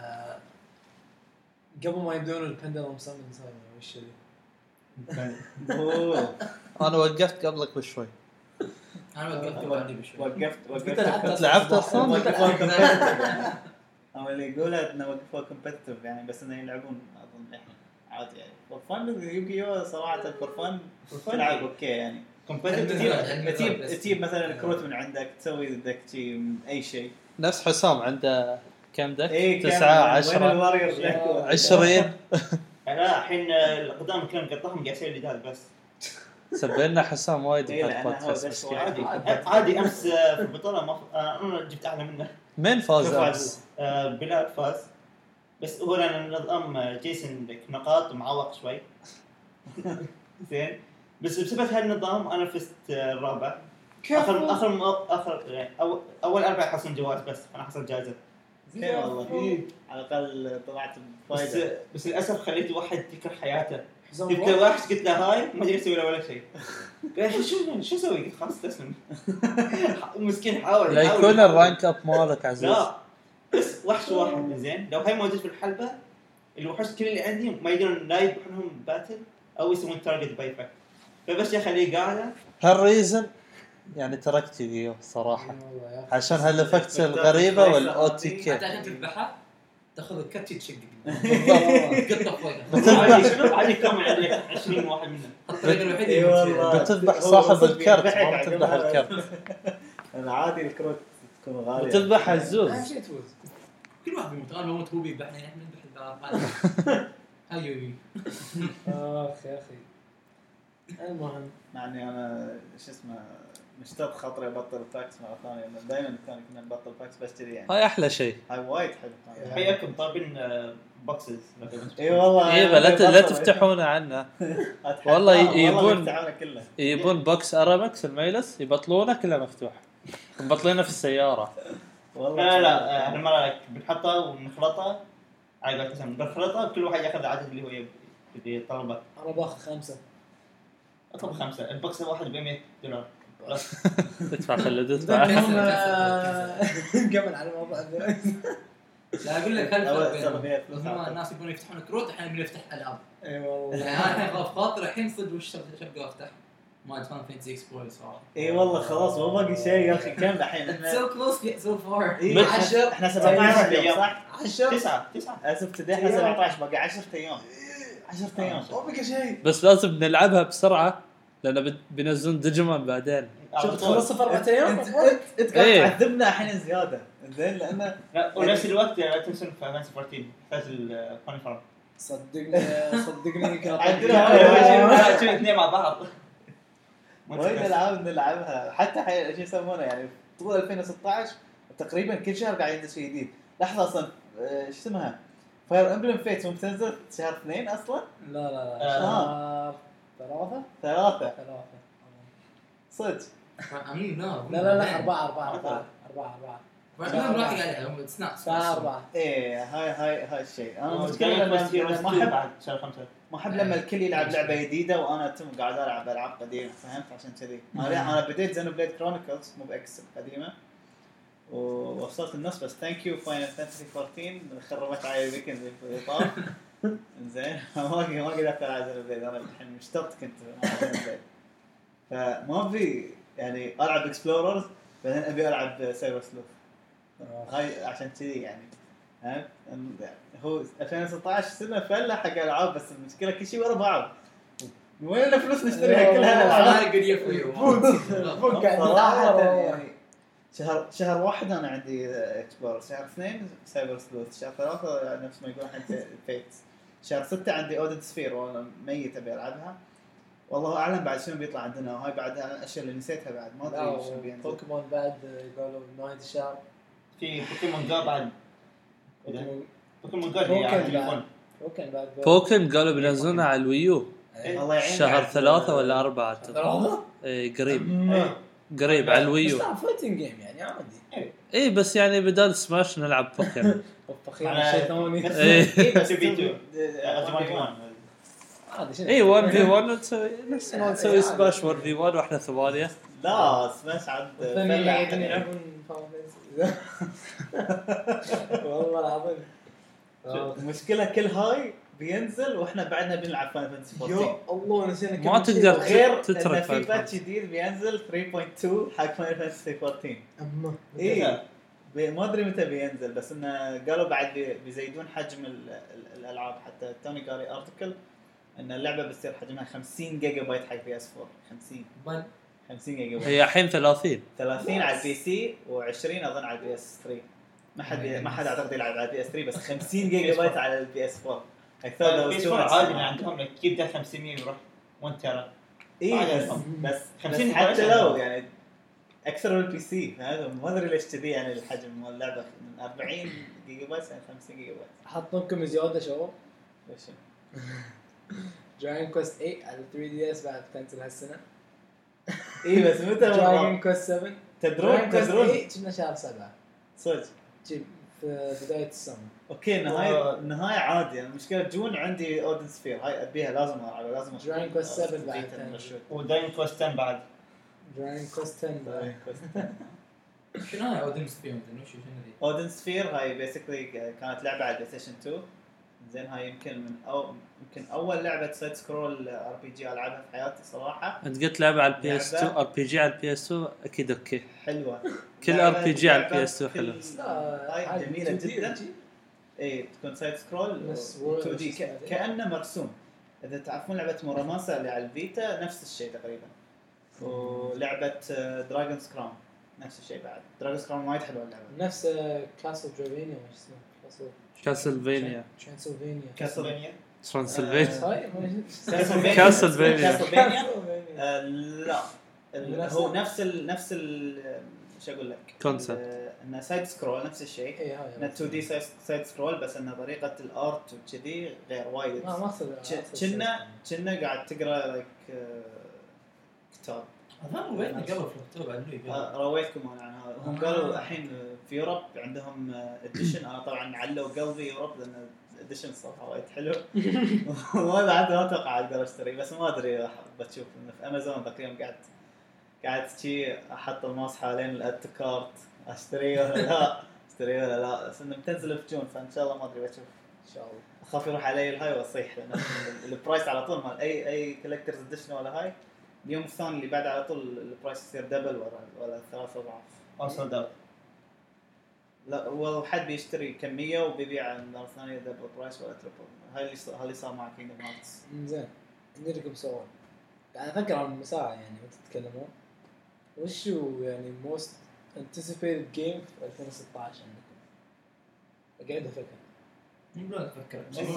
قبل ما يبدون البندلم سامن سايمون وش اللي أوه. انا وقفت قبلك بشوي. انا وقفت بعدي بشوي. وقفت قلت وقفت لعبت لعبت أصلاً؟ وقفوا competitive يعني. او اللي يقولها انه وقفوا كومبتتف يعني بس انه يلعبون اظن الحين عادي يعني فور فن. يوغيو صراحه فور فن تلعب اوكي يعني. كومبتيتيف تجيب تجيب تجيب مثلا كروت من عندك تسوي ضدك شيء من اي شيء. نفس حسام عنده كم دك؟ اي تسعة عشرة عشرة عشرين. لا الحين آه، القدام كلهم قطعهم قاعد يسوي جدال بس سبينا حسام وايد إيه، في لأنه هو البودكاست بس مسكين. واحد. عادي عادي. امس آه، في البطوله ما ف- آه، انا جبت اعلى منه. مين فاز فاز امس؟ آه، بلال فاز بس هو لان نظام آه، جيسون لك نقاط ومعوق شوي. زين بس بسبب هالنظام انا فزت آه، الرابع. اخر اخر مو- اخر يعني أول, اول اربع يحصلون جوائز بس انا حصلت جائزه. اوكي والله على الاقل طلعت بس بفايده. بس للاسف خليت واحد يكره حياته. حسام جبت واحد؟ واحد قلت له هاي ما ادري اسوي له ولا شيء. قال شو شو شو اسوي؟ قلت خلاص تسلم. مسكين حاول لا يحاول- يكون يحاول. الرانك اب مالك عزيز. لا بس وحش واحد زين لو هاي موجود في الحلبه الوحوش كل اللي عندي ما يقدرون لا يذبحونهم باتل او يسوون تارجت باي فاكت. فبس اخليه قاعده هالريزن يعني تركت يوغيو صراحة والله يا أخي. عشان هالافكتس الغريبة والاو تي كي. حتى عشان تذبحها تاخذ الكت تشق بالضبط. قطه فوقها. عادي شنو عادي كامل عندك عشرين واحد منهم. الطريقه الوحيده اي اللي والله بتذبح هو صاحب صدق الكرت، يضحك ما على بتذبح جماعة. الكرت. العادي الكروت تكون غاليه. بتذبح اهم الزوز. شيء تفوز. كل واحد بيموت. انا بموت هو بيذبحني احنا نذبح البعض. هاي يوغي. اخ يا اخي المهم مع اني انا شو اسمه مشتاق خاطري ابطل باكس مره ثانيه لأن دائما كان كنا نبطل باكس بس كذي يعني. هاي احلى شيء. هاي وايد حلو. حياكم طابين بوكسز. اي والله ايه لا ت- لا تفتحونه عنه. والله يبون- يفتحونه كله. يبون بوكس ارامكس الميلس يبطلونه كله مفتوح. مبطلينه في السيارة. والله لا لا احنا ما بنحطه ونخلطه على قولة اسم بنخلطه كل واحد ياخذ العدد اللي هو يبي يبي يطلبه. انا باخذ خمسه. اطلب خمسه البوكس الواحد ب مية دولار بس. تدفع خلدت هم بعد قبل على موضوع الفلوس. لا اقول لك هل أول فرق سنة بينهم؟ فيها فلوس هم أعتقد. الناس يبون يفتحون كروت الحين يبون يفتح العاب. اي والله. يعني انا الحين خاف خاطر الحين صدق وش شبقى افتح ما فان فانتسي اكسبلور صراحه. اي والله خلاص مو باقي شيء يا اخي كم الحين احنا so close yet so far. إيه، عشر. احنا سبعتاشر يوم أيام. صح؟ عشر. تسعة تسعة اسف تدي احنا سبعتاشر باقي عشرة ايام عشرة ايام ما بقى شيء. بس لازم نلعبها بسرعه لان بت- بينزلون ديجيمون بعدين. شوف تخلص في اربع ايام. انت انت انت قاعد إيه. تعذبنا الحين زياده زين لان لا ونفس الوقت لا تنسون في فانسي أربعتاشر يحتاج الكوني فارم صدقني صدقني كانت عندنا شو اثنين مع بعض وايد العاب نلعبها حتى حي... شو يسمونه يعني طول ألفين وستة عشر تقريبا كل شهر قاعد ينزل شيء جديد. لحظه اصلا آه، شو اسمها فاير امبلم فيت مو بتنزل شهر اثنين اصلا لا لا لا آه. شهر ثلاثة ثلاثه ثلاثة صدق امين لا لا لا لا أربعة أربعة أربعة أربعة أربعة بعدين راح قاعد عليهم سناكس الساعة أربعة. ايه هاي هاي هاي الشيء انا المشكله جاي لما بس هيروز ما تو احب بعد شهر خمسة ما احب لما الكل يلعب لعبه جديده وانا تم قاعد العب العاب قديمه فهمت عشان كذي انا انا بديت زينو بليد كرونيكلز مو باكس القديمه ووصلت النص بس ثانك يو فاينل فانتسي أربعتاشر خربت علي الويكند اللي طاف زين ما ما قدرت العب زينو بليد انا الحين مشتط كنت على زينو بليد فما في يعني العب اكسبلوررز بعدين ابي العب سايبر سلوف هاي عشان كذي يعني ها هو ألفين وستة عشر سنه فله حق العاب بس المشكله كل شيء ورا بعض وين لنا فلوس نشتريها كل هالالعاب انا قد يفوي فوق قاعد صراحه نتعرف. يعني شهر شهر واحد انا عندي اكسبلور شهر اثنين سايبر سلوث شهر ثلاثة نفس ما يقول الحين فيتس شهر ستة عندي اودن سفير وانا ميت ابي العبها والله اعلم بعد شنو بيطلع عندنا وهاي بعد الاشياء اللي نسيتها بعد ما ادري شنو بينزل بوكيمون بعد قالوا نهاية الشهر. في بوكيمون جو بعد بوكيمون بوكيمون جو اللي على التليفون بوكيمون بعد بوكن قالوا بينزلونها على الويو الله يعين شهر بعد- ثلاثة ولا أربعة ثلاثة؟ إيه قريب إيه. قريب على بس الويو. لا فايتنج جيم يعني عادي. إيه بس يعني بدال سماش نلعب بوكن. فخير شيء ثاني. بس إيه. إيه بس تو في تو. تو عادي شنو. إيه واحد في واحد نسوي نفس ما نسوي سماش واحد في واحد وإحنا ثمانية. لا سماش عاد الثاني فلع. يقدرون يلعبون فاهم. والله العظيم. المشكله كل هاي بينزل واحنا بعدنا بنلعب فاين فانتسي يا أربعتاشر الله نسينا ما كل شيء. تقدر غير تترك ان في Final باتش Fantasy. جديد بينزل ثلاثة نقطة اثنين حق فاين فانتسي أربعتاشر أما. اي بي- ما ادري متى بينزل بس انه قالوا بعد بي- بيزيدون حجم ال- ال- الالعاب حتى توني قاري ارتكل ان اللعبه بتصير حجمها خمسين جيجا بايت حق بي اس أربعة خمسين بل خمسين جيجا بايت هي الحين ثلاثين. ثلاثين على البي سي و20 اظن على البي اس ثلاثة ما حد ما حد اعتقد يلعب على البي اس ثلاثة بس خمسين جيجا بايت على البي اس أربعة اكثر بيس فور عادي من عندهم لك كيف ده خمسمية يروح وانت ترى اي عادي بس أصلاً. بس خمسين بس حتى حلقة. لو يعني اكثر من البي سي هذا ما ادري ليش كذي يعني الحجم مال اللعبه من أربعين جيجا بايت يعني خمسين جيجا بايت حط لكم زياده شباب. ليش دراجون كويست ثمانية على ثري دي اس بعد تنزل هالسنه. اي بس متى دراجون كويست سبعة تدرون تدرون كنا شهر سبعة صدق جيب في بدايه السنه. اوكي النهايه النهايه عادي يعني المشكله جون عندي اودن سفير هاي ابيها لازم العبها لازم أشوف. Dragon Quest سبعة بعد بيتا تنزل. مشروع. وداين كوست عشرة بعد دراجون كويست عشرة بعد. Dragon Quest عشرة. شنو هاي اودم سبيون وش شنو ذي؟ اودن سفير هاي بيسكلي كانت لعبه على البلاي ستيشن اثنين زين هاي يمكن من أو يمكن اول لعبه سايد سكرول ار بي جي العبها في حياتي صراحه أنت قلت لعبة على البي اس لعبة. تو ار بي جي على البي اس تو أكيد أوكي. حلوه كل لعبة- ار بي جي على لعبة البي اس تو كل- حلو. هاي عادي جميله تو دي جدا جي. اي تكون سايد سكرول نفس اثنين دي وش اسمها ذي؟ كانه مرسوم اذا تعرفون لعبه موراماسا اللي على الفيتا نفس الشيء تقريبا ولعبه دراجونز كراون نفس الشيء بعد دراجونز كراون وايد حلوه اللعبه نفس كاسل درافينيا وش اسمه كاسل كاسلفينيا ترانسلفينيا. كاسلفينيا ترانسلفينيا هاي كاسلفينيا كاسلفينيا. كاسلفينيا كاسلفينيا. آه، لا ال- نفس هو ال- نفس ال نفس ال شو اقول لك Concept. ال- انه سايد سكرول نفس الشيء اي هاي انه تو دي سايد سكرول بس انه طريقه الارت وكذي غير وايد ما ما اقصد كنا كنا قاعد تقرا لك كتاب اظن رويتنا قبل في الكتاب على اللي آه، رويتكم انا عن هذا هم قالوا الحين في يوروب عندهم اديشن. انا طبعا علوا قلبي يوروب لان الاديشن صراحه وايد حلو. ما بعد ما اتوقع اقدر اشتري، بس ما ادري بتشوف انه في امازون ذاك اليوم قعدت قعدت شي احط الماوس حوالين الاد كارت اشتري ولا لا اشتري ولا لا، بس انه بتنزل في جون فان شاء الله ما ادري بشوف ان شاء الله. اخاف يروح علي الهاي واصيح لان البرايس على طول مال اي اي كولكترز اديشن ولا هاي اليوم الثاني اللي بعد على طول البرايس يصير دبل ولا ولا ثلاث اضعاف. اوصل دبل. لا هو حد بيشتري كميه وبيبيع مره ثانيه دبل برايس ولا تريبل. هاي اللي هاي اللي صار مع كينجدم هارتس. زين عندي لكم سؤال. يعني افكر عن المساحه يعني وانتم تتكلمون وش هو يعني most anticipated game في ألفين وستة عشر عندكم؟ قاعد افكر يقول افكر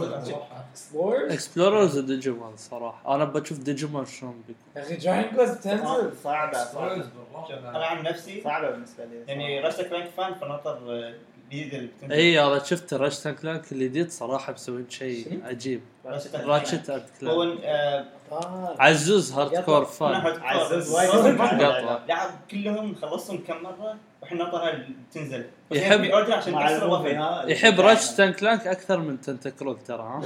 اكسبلورز اكسبلوررز وديجيمون صراحه انا بشوف ديجيمون شلون بيكون. يا اخي جاين كويست تنزل صعبه صعبه انا عن نفسي صعبه بالنسبه لي يعني راشتا كلانك فان فنطر الجديد اللي بتنزل. اي انا شفت راشتا كلانك الجديد صراحه مسوين شيء عجيب. راشتا اند هو كلانك آه، آه. عزوز هاردكور فان عزوز وايد وايد قطعة. لعب كلهم خلصهم كم مره واحنا نطرها تنزل. بس يحب- يعني اوردر عشان مع تكسر الموفي وفن. ها يحب راشتا كلانك اكثر من تنتكرول ترى ها.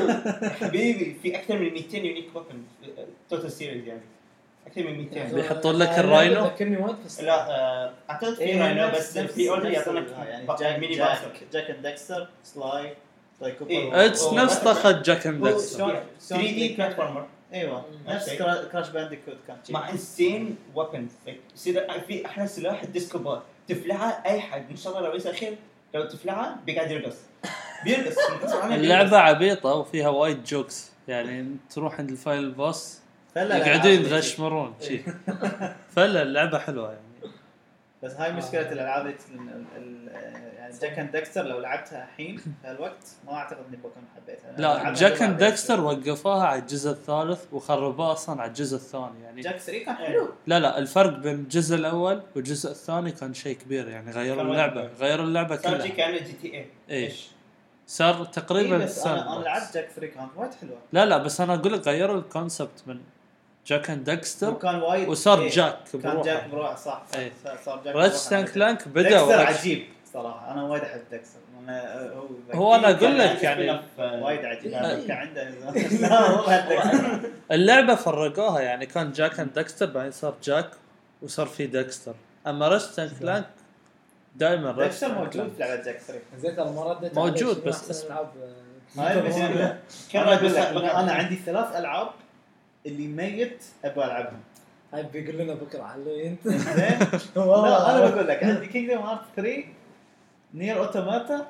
حبيبي في اكثر من مئتين يونيك وفن توتال سيريز يعني اكثر من مئتين. بيحطون لك الراينو؟ ذكرني وايد في لا آه، اعتقد في إيه، راينو نفس- بس نفس- في اوردر نفس يعطونك ال- يعني با- جاك ميني جاك باسر جاك اند ديكستر سلاي سلاي كوبر إيه. اتس هو نفس بس- طاقه جاك اند هو ديكستر. شلون- شلون ثري دي بلاتفورمر ايوه نفس أوكي. كرا- كراش بانديكوت كان شي. مع انسين ويبنز في احلى سلاح الديسكو بار تفلعه اي حد ان شاء الله لو يصير خير لو تفلعه بيقعد يرقص بيرقص اللعبه عبيطه وفيها وايد جوكس يعني تروح عند الفايل بوس فلا يقعدون الألعاب يتغشمرون شي. فلا اللعبه حلوه يعني. بس هاي مشكله الالعاب اللي ال- ال- يعني جاك اند ديكستر لو لعبتها الحين في هالوقت ما اعتقد اني بكون حبيتها. لا ألعبها جاك قبل اند بعدين. ديكستر وقفوها على الجزء الثالث وخربوها اصلا على الجزء الثاني يعني. جاك ثري كان حلو. لا لا الفرق بين الجزء الاول والجزء الثاني كان شيء كبير يعني غيروا كان اللعبه وايد. غيروا اللعبه صار شي كلها. كان جي تي اي ايش صار تقريبا إيه بس انا انا الساندبوكس. لعبت جاك ثري كانت وايد حلوه. لا لا بس انا اقول لك غيروا الكونسبت من جاك اند ديكستر وكان وايد وصار إيه، جاك كان بروحه. جاك بروحه صح صح إيه. صار جاك راتشت كلانك بدا ديكستر ورش- عجيب صراحه انا وايد احب ديكستر أنا هو هو انا اقول كان لك عنده يعني spin-off، آه، وايد عجيب إيه. كان عنده لا هو بعد ديكستر اللعبه فرقوها يعني كان جاك اند ديكستر بعدين صار جاك وصار في ديكستر. اما راتشت كلانك دائما ديكستر موجود في لعبه جاك ثري. زين ترى ما رديت موجود عليه. شنو بس- أحسن ألعاب، آه، هاي المشكله. كان انا اقول بس- لك انا أنا عندي ثلاث العاب اللي ميت ابغى العبهم. هاي بيقول لنا بكره علوي انت. زين لا انا بقول لك عندي كينجدم هارت ثري نير اوتوماتا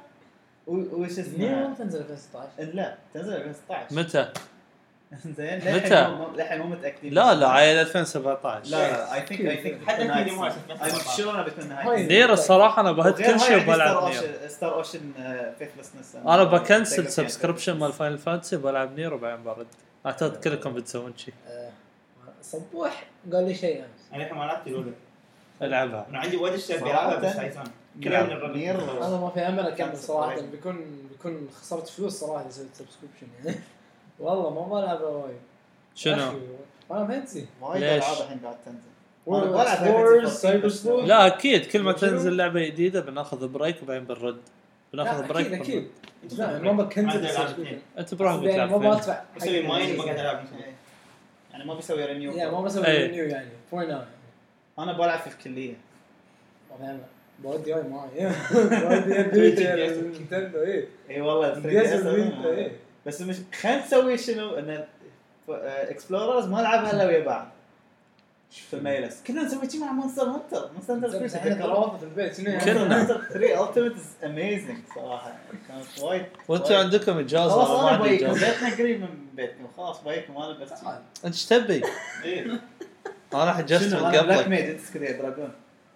وش نيو اسمها ما تنزل ألفين وستة عشر. لا تنزل ألفين وستة عشر. متى؟ زين متى؟ للحين مو- للحين مو متاكدين. لا لا عيل ألفين وسبعة عشر. لا لا اي ثينك اي ثينك حتى في مو اي شور انا بتكون هاي. نهايه. نير الصراحه انا بهت كل شيء وبلعب نير. ستار اوشن فيثلسنس انا بكنسل سبسكريبشن مال فاينل فانتسي وبلعب نير وبعدين برد. اعتقد كلكم بتسوون شيء. آه، صبوح قال لي شيء امس. انا الحين ما لعبت الاولى العبها. انا عندي وايد اشياء بلعبها بس هايسان كلها من الربع نير انا ما في امل اكمل كان صراحه سبسكريبشن. بيكون بيكون خسرت فلوس صراحه اذا سويت سبسكريبشن يعني. والله ما بلعب وايد. شنو؟ انا فانسي وايد ليش؟ العاب الحين قاعد تنزل. وورز بلعب وورز Fantasy سايبر fourteen سلوث. لا اكيد كل ما شنو؟ تنزل لعبه جديده بناخذ بريك وبعدين بنرد. بناخذ لا بريك اكيد اكيد. بنرد. لا ما بكنسل عندي ألعاب السبسكريبشن. انت بروحك يعني ما بتلعب. بدفع. بسوي ماين بقعد العب إيه. يعني ما بيسوي رينيو. يا ما بسوي إيه. رينيو يعني فور ناو. انا بلعب في الكليه. ما في امل. بودي هاي معي. بودي ادري نينتندو ايه. اي والله جهاز الفيتا ايه. بس مش خلينا نسوي شنو ان اكسبلوررز ما نلعبها الا ويا بعض في ميلس كنا نسوي شيء مع مونستر هانتر مونستر هانتر بس احنا ترى واقف في البيت شنو يعني؟ كلنا. ثري التيمت از اميزنج صراحه يعني كانت وايد وانتم عندكم اجازه خلاص ولا ما انا عندي بايكم اجازه؟ بيتنا قريب من بيتكم خلاص بايكم انا بس تعال. انت ايش تبي؟ ايه انا حجزت شنو من انا بلاك قبلك. ميج انت سكري دراجون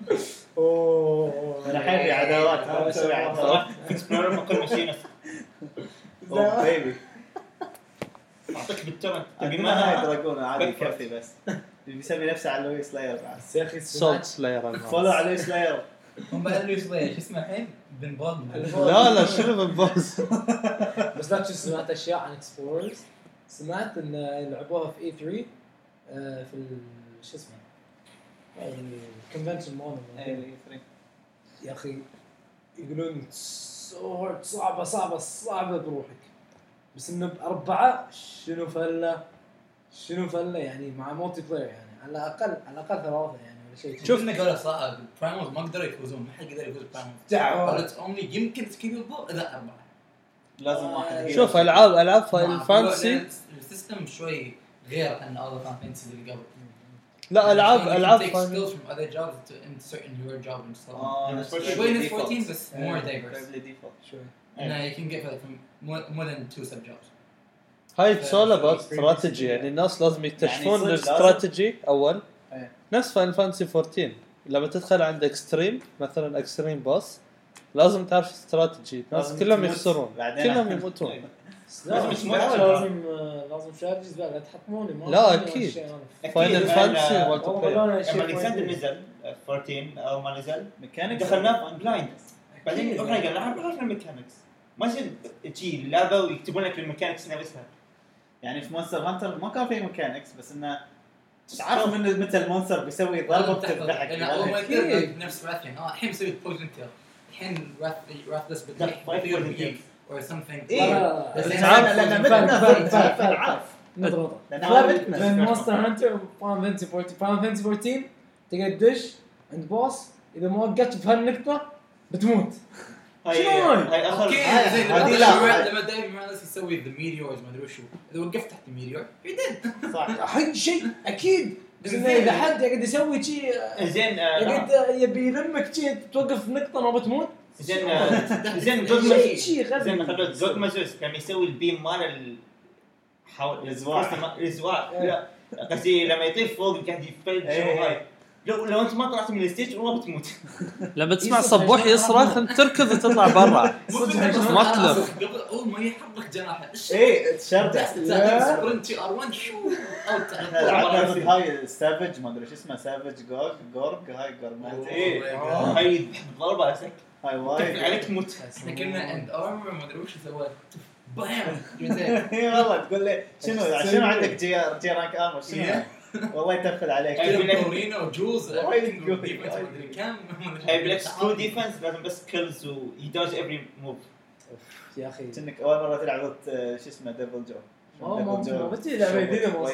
اوه انا الحين في عداوات هذا نسوي شيء عداوات في اكسبلورر ممكن ماشينه اوه بيبي اعطيك بالتمن تبي عندنا هاي ما دراجون عادي بكفر. كافي بس بيسمي نفسه على لوي سلاير بعد بس يا اخي سولت سمعت سلاير. فولو على لوي سلاير هم بعد لي شويه شو اسمه الحين بن بول لا لا شنو بالبوس؟ بس لا تشوف سمعت اشياء عن اكسبلوررز. سمعت ان لعبوها في اي ثري آه، في ال- شو اسمه يعني الكونفنشن مال ايه فري يا اخي يقولون سورد صعبة صعبة صعبة بروحك، بس إنه بأربعة شنو فلة شنو فلة يعني مع مولتي بلاير يعني على الأقل على الأقل ثلاثة يعني ولا شيء. شوف إنه قالوا صراحة برايموز ما قدروا يفوزون، ما حد قدر يفوز برايموز. دعوة. قالت أمني يمكن تكيبل إذا أربعة. لازم واحد. شوف العاب العاب فاينل فانتسي السيستم شوي غير عن other فانتسي اللي قبل. لا العاب العاب skills فاينل from other jobs to into certain your job and stuff. آه، شوي نفس fourteen بس more diverse. شوي. إنه you can get like from more, more than two sub jobs. هاي سولا بس استراتيجي يعني الناس لازم يكتشفون يعني صدق الاستراتيجي اول إيه. نفس فاينل فانتسي فورتين لما تدخل عند اكستريم مثلا اكستريم باس لازم تعرف استراتيجي الناس لازم كلهم تموت. يخسرون بعدين كلهم أحد. يموتون لازم مش لازم مرة. لازم لازم شارجز بقى لا تحطموني ما لا، أدري أكيد. وش أنا. فاينل فانتسي والله مالتي بلاير والله أنا شيء لما الكسندر فاينل. نزل fourteen او ما نزل ميكانيك دخلنا بلايند، بعدين أكيد. احنا قلنا نعرف نعرف الميكانكس ما يصير تجي اللعبه ويكتبون لك الميكانكس نفسها. يعني في مونستر هانتر ما كان في ميكانكس بس انه تعرف من متى المونستر بيسوي ضربه بتضحك. أنا أول ما قلت نفس راثين آه الحين مسوي بويزن تيل الحين راث راثلس بتطيح بيطير بيك or something. إيه. بس بس أنا- تعرف لان متنا فاهم، فاهم، ضد فاهم. عارف نضربه. لأن ثابت هذا بين مونستر هانتر وفان فانتسي فورتين. فان فانتسي فورتين تقدر تدش عند بوس اذا ما وقفت بهالنقطه بتموت. هاي شنو هاي؟ هاي اخر اوكي هاي- زين هذه لما لا. دايما لما دايما مالس يسوي ذا ميديورز ما ادري وشو اذا وقفت تحت الميديور يدد صح. حق شيء اكيد بس انه اذا حد يقعد يسوي شيء زين يقعد آه، يبي يلمك شيء توقف نقطه ما بتموت. زين آه، زين جود شيء مازوس شيء غبي. زين خلوت جود مازوس كان يسوي البيم مال ال حاول الزواع. الزواع لا قصدي لما يطير فوق قاعد يفلج إيه. وهاي لو لو انت ما طلعت من الستيج والله بتموت. لما تسمع يصرخ صبوح عشان يصرخ انت تركض وتطلع برا صدق ما عشان- تلف. قبل اول ما يحط لك جناحه ايش ايه تشرد. سبرنت ار واحد شو اوت احنا لعبنا ضد هاي سافج ما ادري شو اسمه سافج جورج جورج هاي جورماتي ايه أوه. هاي ضربه اسك هاي تقفل وايد. عليك تموت. احنا كنا اند ارمر ما ادري وش سوى بام اي والله تقول لي شنو شنو عندك جي جي رانك ارمر شنو والله يتفل عليك. كورينا وجوز وايد قوي. ما ادري كم هاي بلاك سكرو ديفنس لازم بس كلز ويدوج افري موف. يا اخي كأنك اول مره تلعب ضد شو اسمه ديفل جو. ما ما ما بتجي لعبه جديده ما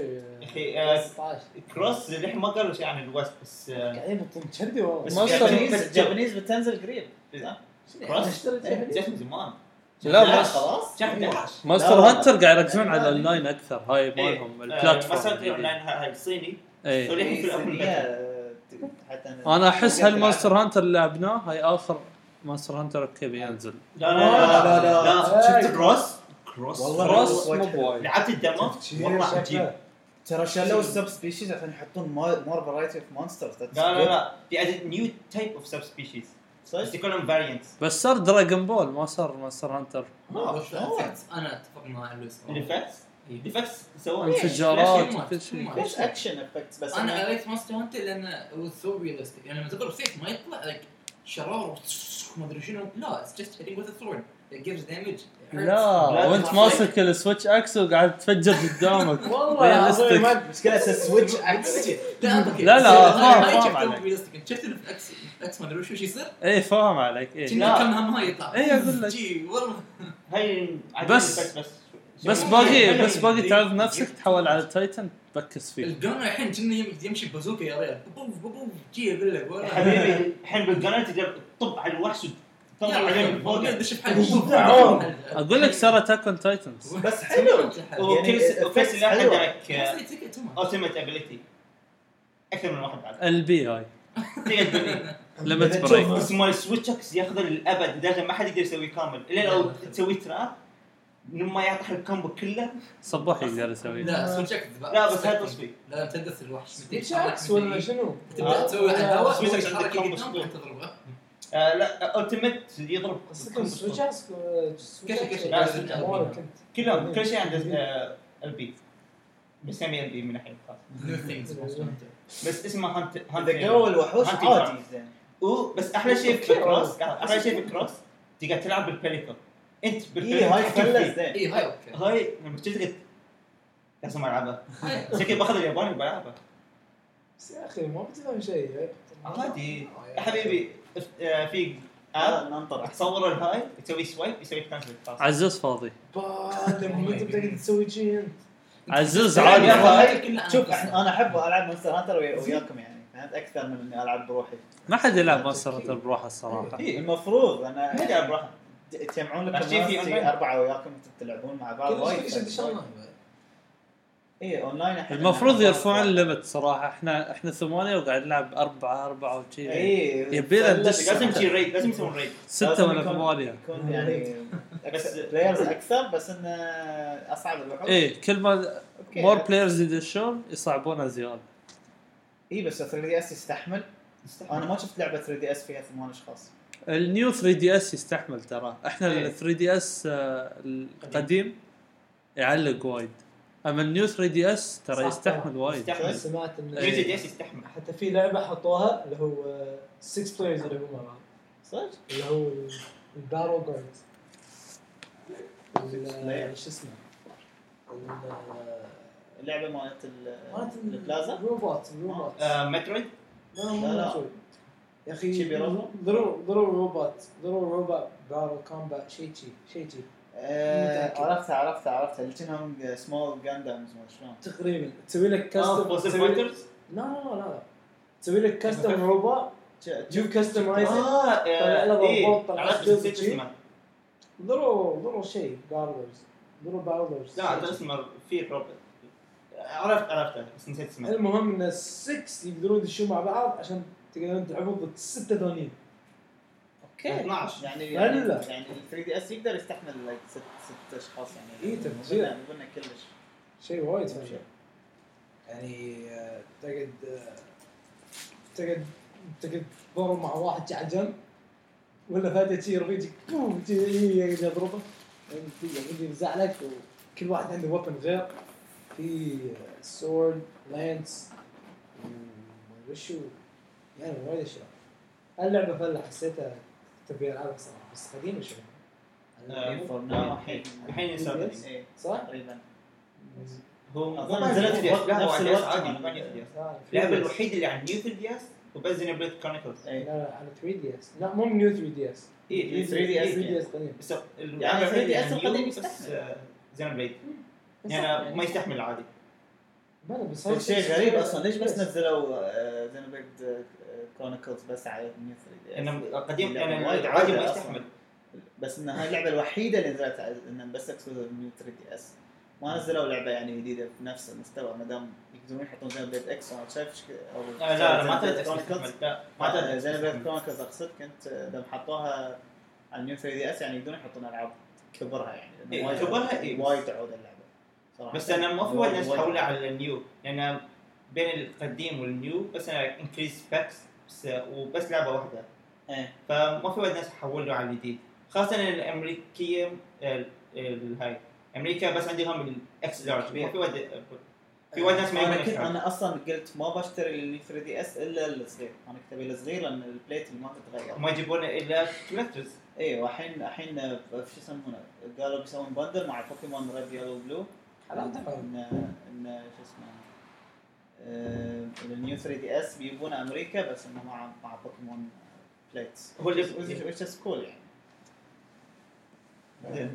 اخي آه، كروس الحين ما قالوا شيء عن الوست بس آه، قاعدين يبطون تشردي والله. بس ما جابانيز بس جابانيز بتنزل قريب. صح؟ كروس اشتري إيه، جابانيز. جت من زمان. لا لا، بس خلاص شهر احد عشر. ماستر لا. هانتر قاعد يركزون على الاونلاين اكثر هاي إيه. مالهم آه، البلاتفورم مسات الجديد. اونلاين هاي الصيني اي صريح في الابل بيتا. آه، حتى انا احس هالماستر هانتر اللي لعبناه هاي اخر ماستر هانتر اوكي بينزل لا لا لا لا، لا. لا شفت كروس كروس والله كروس وايد مو حلو. بوايد لعبت الدمو والله عجيب. ترى شالوا السب سبيشيز عشان يحطون مور فرايتي اوف مونسترز. لا لا لا في عدد نيو تايب اوف سب سبيشيز بس يكونون فاريانتس. بس صار دراغون بول ما صار ماستر هانتر انا اتفق مع لويس الافكتس الافكتس سووا انفجارات ليش؟ وكل شيء ليش؟ ليش اكشن افكتس بس انا قريت ماستر هانتر لانه was so realistic يعني لما تضرب سيف ما يطلع like شرار ما ادري شنو لا it's just hitting with a sword it gives damage it hurts. لا وانت ماسك السويتش اكس وقاعد تفجر قدامك والله Realistic. ما مشكلة السويتش اكس. لا لا، لا، فاهم- فاهم عليك. عليك شفت اللي في اكس اكس ما ادري وش يصير ايه فاهم عليك ايه كنا كم هم هاي يطلع إيه، أقول لك. جي والله هاي بس- بس بس باقي بس باقي تعرف نفسك تحول على تايتن تبكس فيه الجون الحين كنا يم- يمشي ببازوكا يا ريال بوف بوف جي اقول لك والله حبيبي الحين بالقناه تقدر تطب على الوحش وتطلع عليه من فوق. دش اقول لك صار اتاك اون تايتنز بس حلو. وكل يعني وكل سلاح حلوة. عندك اوتومات ابيليتي اكثر من واحد بعد البي هاي تقدر تبني. ليمت تشوف بريك بس مال سويتش اكس ياخذ للابد لدرجه ما حد يقدر يسويه كامل الا لو تسوي تراب لما يعطح الكومبو كله. صباح يقدر يسوي لا سويتش لا بس هاي تصفي لا تدس الوحش شاكس ولا شنو؟ تبدا تسوي على الهواء سويتش سويتش عندك حركه كومبو قدام سبليت. تضربه آه لا اوتومات يضرب قصدك سويتش اكس كيف- كيف- لا، كيف- سويتش كيف- كنت كلهم كل شيء عنده البي بسمي البي من الحين خلاص new things بس اسمه هانت اذا قووا الوحوش هانتي عادي جراوند. زين. و بس احلى شيء في أوكي. الكروس احلى شيء في الكروس تقدر تلعب بالبليكل انت اي بالبليكل هاي تحكم فله فيه. زين. اي هاي اوكي هاي لما تجي لازم العبها شكلي باخذ الياباني وبلعبها بس يا اخي ما بتفهم شيء عادي يا حبيبي اف- آه، في هذا ننطر تصور الهاي تسوي سوايب يسوي كانسل خلاص. عزوز فاضي لما انت بتقدر تسوي شيء انت عزوز يا عادي هاي شوف انا احب العب مونستر هانتر وياكم يعني فهمت اكثر من اني العب بروحي. ما حد يلعب مونستر هانتر بروحه الصراحه. المفروض انا ما يلعب بروحه. تجمعون لكم بس في ناس أونلاين. اربعه وياكم تلعبون مع بعض كل وايد شيء شيء شيء اي اونلاين الحين المفروض أنا يرفعون أخاف. الليمت صراحه. احنا احنا ثمانية وقاعد نلعب أربعة أربعة وشي. اي يبينا ندش لازم تصير ريد لازم يسوون ريد. ستة ولا ثمانية. يكون يعني بس- بس بلايرز اكثر بس انه اصعب الوحوش. ايه كل ما أوكي. مور بلايرز يدشون يصعبونها زياده. اي بس ثري دي اس يستحمل. انا ما شفت لعبه ثري دي اس فيها ثمان اشخاص. النيو ثري دي اس يستحمل ترى. احنا إيه. ال ثري دي اس آه، القديم يعلق وايد. اما النيو ثري دي اس ترى صح يستحمل وايد. يستحمل. سمعت ان يوزي دي اس يستحمل. حتى في لعبه حطوها اللي هو ستة بلايرز اللي هو مع بعض صدق؟ اللي هو الباتل جاردز player. شو اسمه اللعبه مالت ال- مالت البلازا. الروبوت الروبوت آه، مترويد. لا لا، مو لا. مترويد. يا اخي شي بيروبو؟ ضرو ضرو روبوت ضرو روبوت باتل كومبات شيء شيء شيء شيء آه، متأكد. عرفتها عرفتها عرفتها اللي كانهم سمول جاندامز ما شلون. تقريبا تسوي لك اه كاستم بوس تسوي لك- فايترز. لا لا لا لا تسوي لك كاستم روبوت يو كاستمايز اه طلع له ايه روبوت، طلع عرفت له نسيت شيء. اسمه. ضرو ضرو شيء باتلرز ضرو باتلرز لا هذا اسمه في روبوت. عرفت عرفته بس نسيت اسمه. المهم ان السكس يقدرون يدشون مع بعض عشان تقدرون تلعبون ضد الستة ثانيين. اوكي اثناشر. يعني لا، يعني لا. يعني ال ثري دي اس يقدر يستحمل like ست ست اشخاص يعني. إيه، تفجير. قلنا قلنا كلش. شيء وايد فشل. يعني آه، تقعد آه، تقعد تقعد تضرب مع واحد جا على جنب ولا فجأة شي رفيجك بوم شي يقعد يضربه يقعد يزعلك وكل واحد عنده ويبن غير في سورد لانس وشو يعني وايد اشياء. اللعبة فله حسيتها تبي العبها صراحة بس قديمة شوي. آه، For now آه، الحين. الحين يسافر. ايه صح؟ تقريبا. هو أظن نزلت نزلت في في وقت- لا هو نفس على الوقت عادي مال ما نزل. لا، اللعبة الوحيدة اللي على نيو ثري دي اس وبس زين بليد كرونيكلز. ايه لا لا على ثري دي اس لا مو نيو ثري دي اس ايه ثري دي اس ثري دي اس قديم بس يعني ثري دي اس القديم بس يستحمل. آه، زين بليد بس يعني ما يستحمل عادي. بلا بس هو هاي شيء شيء- غريب اصلا ليش بس بس. نزلوا زينوبليد كرونيكلز بس على نيو ثري دي اس. انه قديم اللعبة يعني وايد عادي ما عادة يستحمل. أصلاً. بس ان هاي اللعبه الوحيده اللي نزلت على- ان بس اكسكلوسيف نيو ثري دي اس. ما نزلوا لعبه يعني جديده بنفس المستوى ما دام يقدرون يحطون زينوبليد اكس انا شايف ش- او لا لا ما Xenoblade تقدر Chronicles. تستحمل. لا ما تقدر زينوبليد تستحمل. كرونيكلز اقصد كنت اذا حطوها على نيو ثري دي اس يعني يقدرون يحطون العاب كبرها يعني لأنه إيه، وايد كبرها، تعود- إيه. وايد تعود اللعبه صراحه. بس انا ما في وايد ناس وايد- حولها على النيو يعني بين القديم والنيو بس انا انكريز باكس بس وبس لعبه واحده ايه فما في وايد ناس حولوا على الجديد خاصه الامريكيه ال- ال- هاي امريكا بس عندهم الاكس لارج ما في وايد في وايد ناس ما انا يبون كنت إكس لارج. انا اصلا قلت ما بشتري النيو ثري دي اس الا الصغير انا كنت ابي الصغير لان البليت اللي ما تتغير. ما يجيبون الا كولكترز. ايه والحين الحين شو يسمونه قالوا بيسوون بندل مع بوكيمون ريد يلو بلو حلاوة حلوة. ان ان شو اسمه آه، النيو ثري دي اس بيجيبونه امريكا بس انه مع مع بوكيمون بليتس هو اللي- which is cool يعني. زين.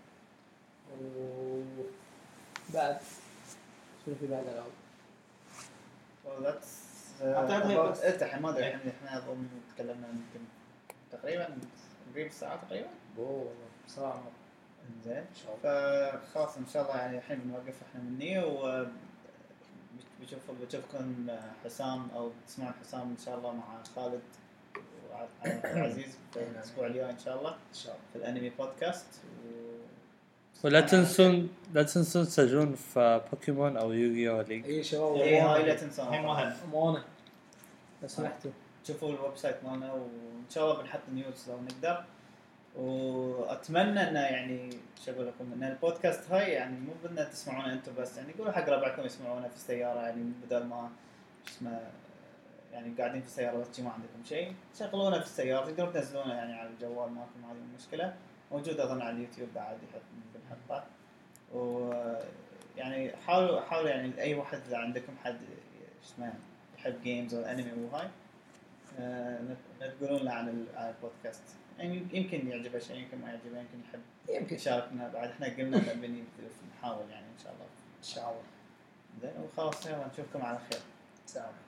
بعد شنو في بعد العاب؟ So that's أعتقد هي uh, بس. about it. الحين ما ادري الحين احنا اظن تكلمنا يمكن تقريبا قريب الساعه تقريبا. اوه بصراحة زين ان شاء الله. فخلاص ان شاء الله يعني الحين بنوقف احنا مني و بشوف بشوفكم حسام او تسمعون حسام ان شاء الله مع خالد وعبد العزيز في الاسبوع الجاي ان شاء الله ان شاء الله. في الانمي بودكاست و... ولا تنسون لا تنسون تسجلون في بوكيمون او يوغي او ليج. اي شباب ايه هاي لا الحين تنسون مهل امانه لو سمحتوا شوفوا الويب سايت مالنا وان شاء الله بنحط نيوز لو نقدر واتمنى انه يعني شو اقول لكم ان البودكاست هاي يعني مو بدنا تسمعونه انتم بس يعني قولوا حق ربعكم يسمعونه في السياره يعني بدل ما شو اسمه يعني قاعدين في السياره بس ما عندكم شيء شغلونه في السياره تقدرون تنزلونه يعني على الجوال ماكم هذه المشكله موجود اظن على اليوتيوب بعد يحط بنحطه و يعني حاولوا حاولوا يعني اي واحد اذا عندكم حد شو اسمه يحب جيمز او انمي وهاي آه، لا تقولون له عن ال- عن البودكاست يعني يمكن يعجبه شيء يمكن ما يعجبه يمكن يحب يمكن يشاركنا بعد احنا قلنا نبي نحاول يعني ان شاء الله ان شاء الله. زين وخلاص يلا نشوفكم على خير. سلام.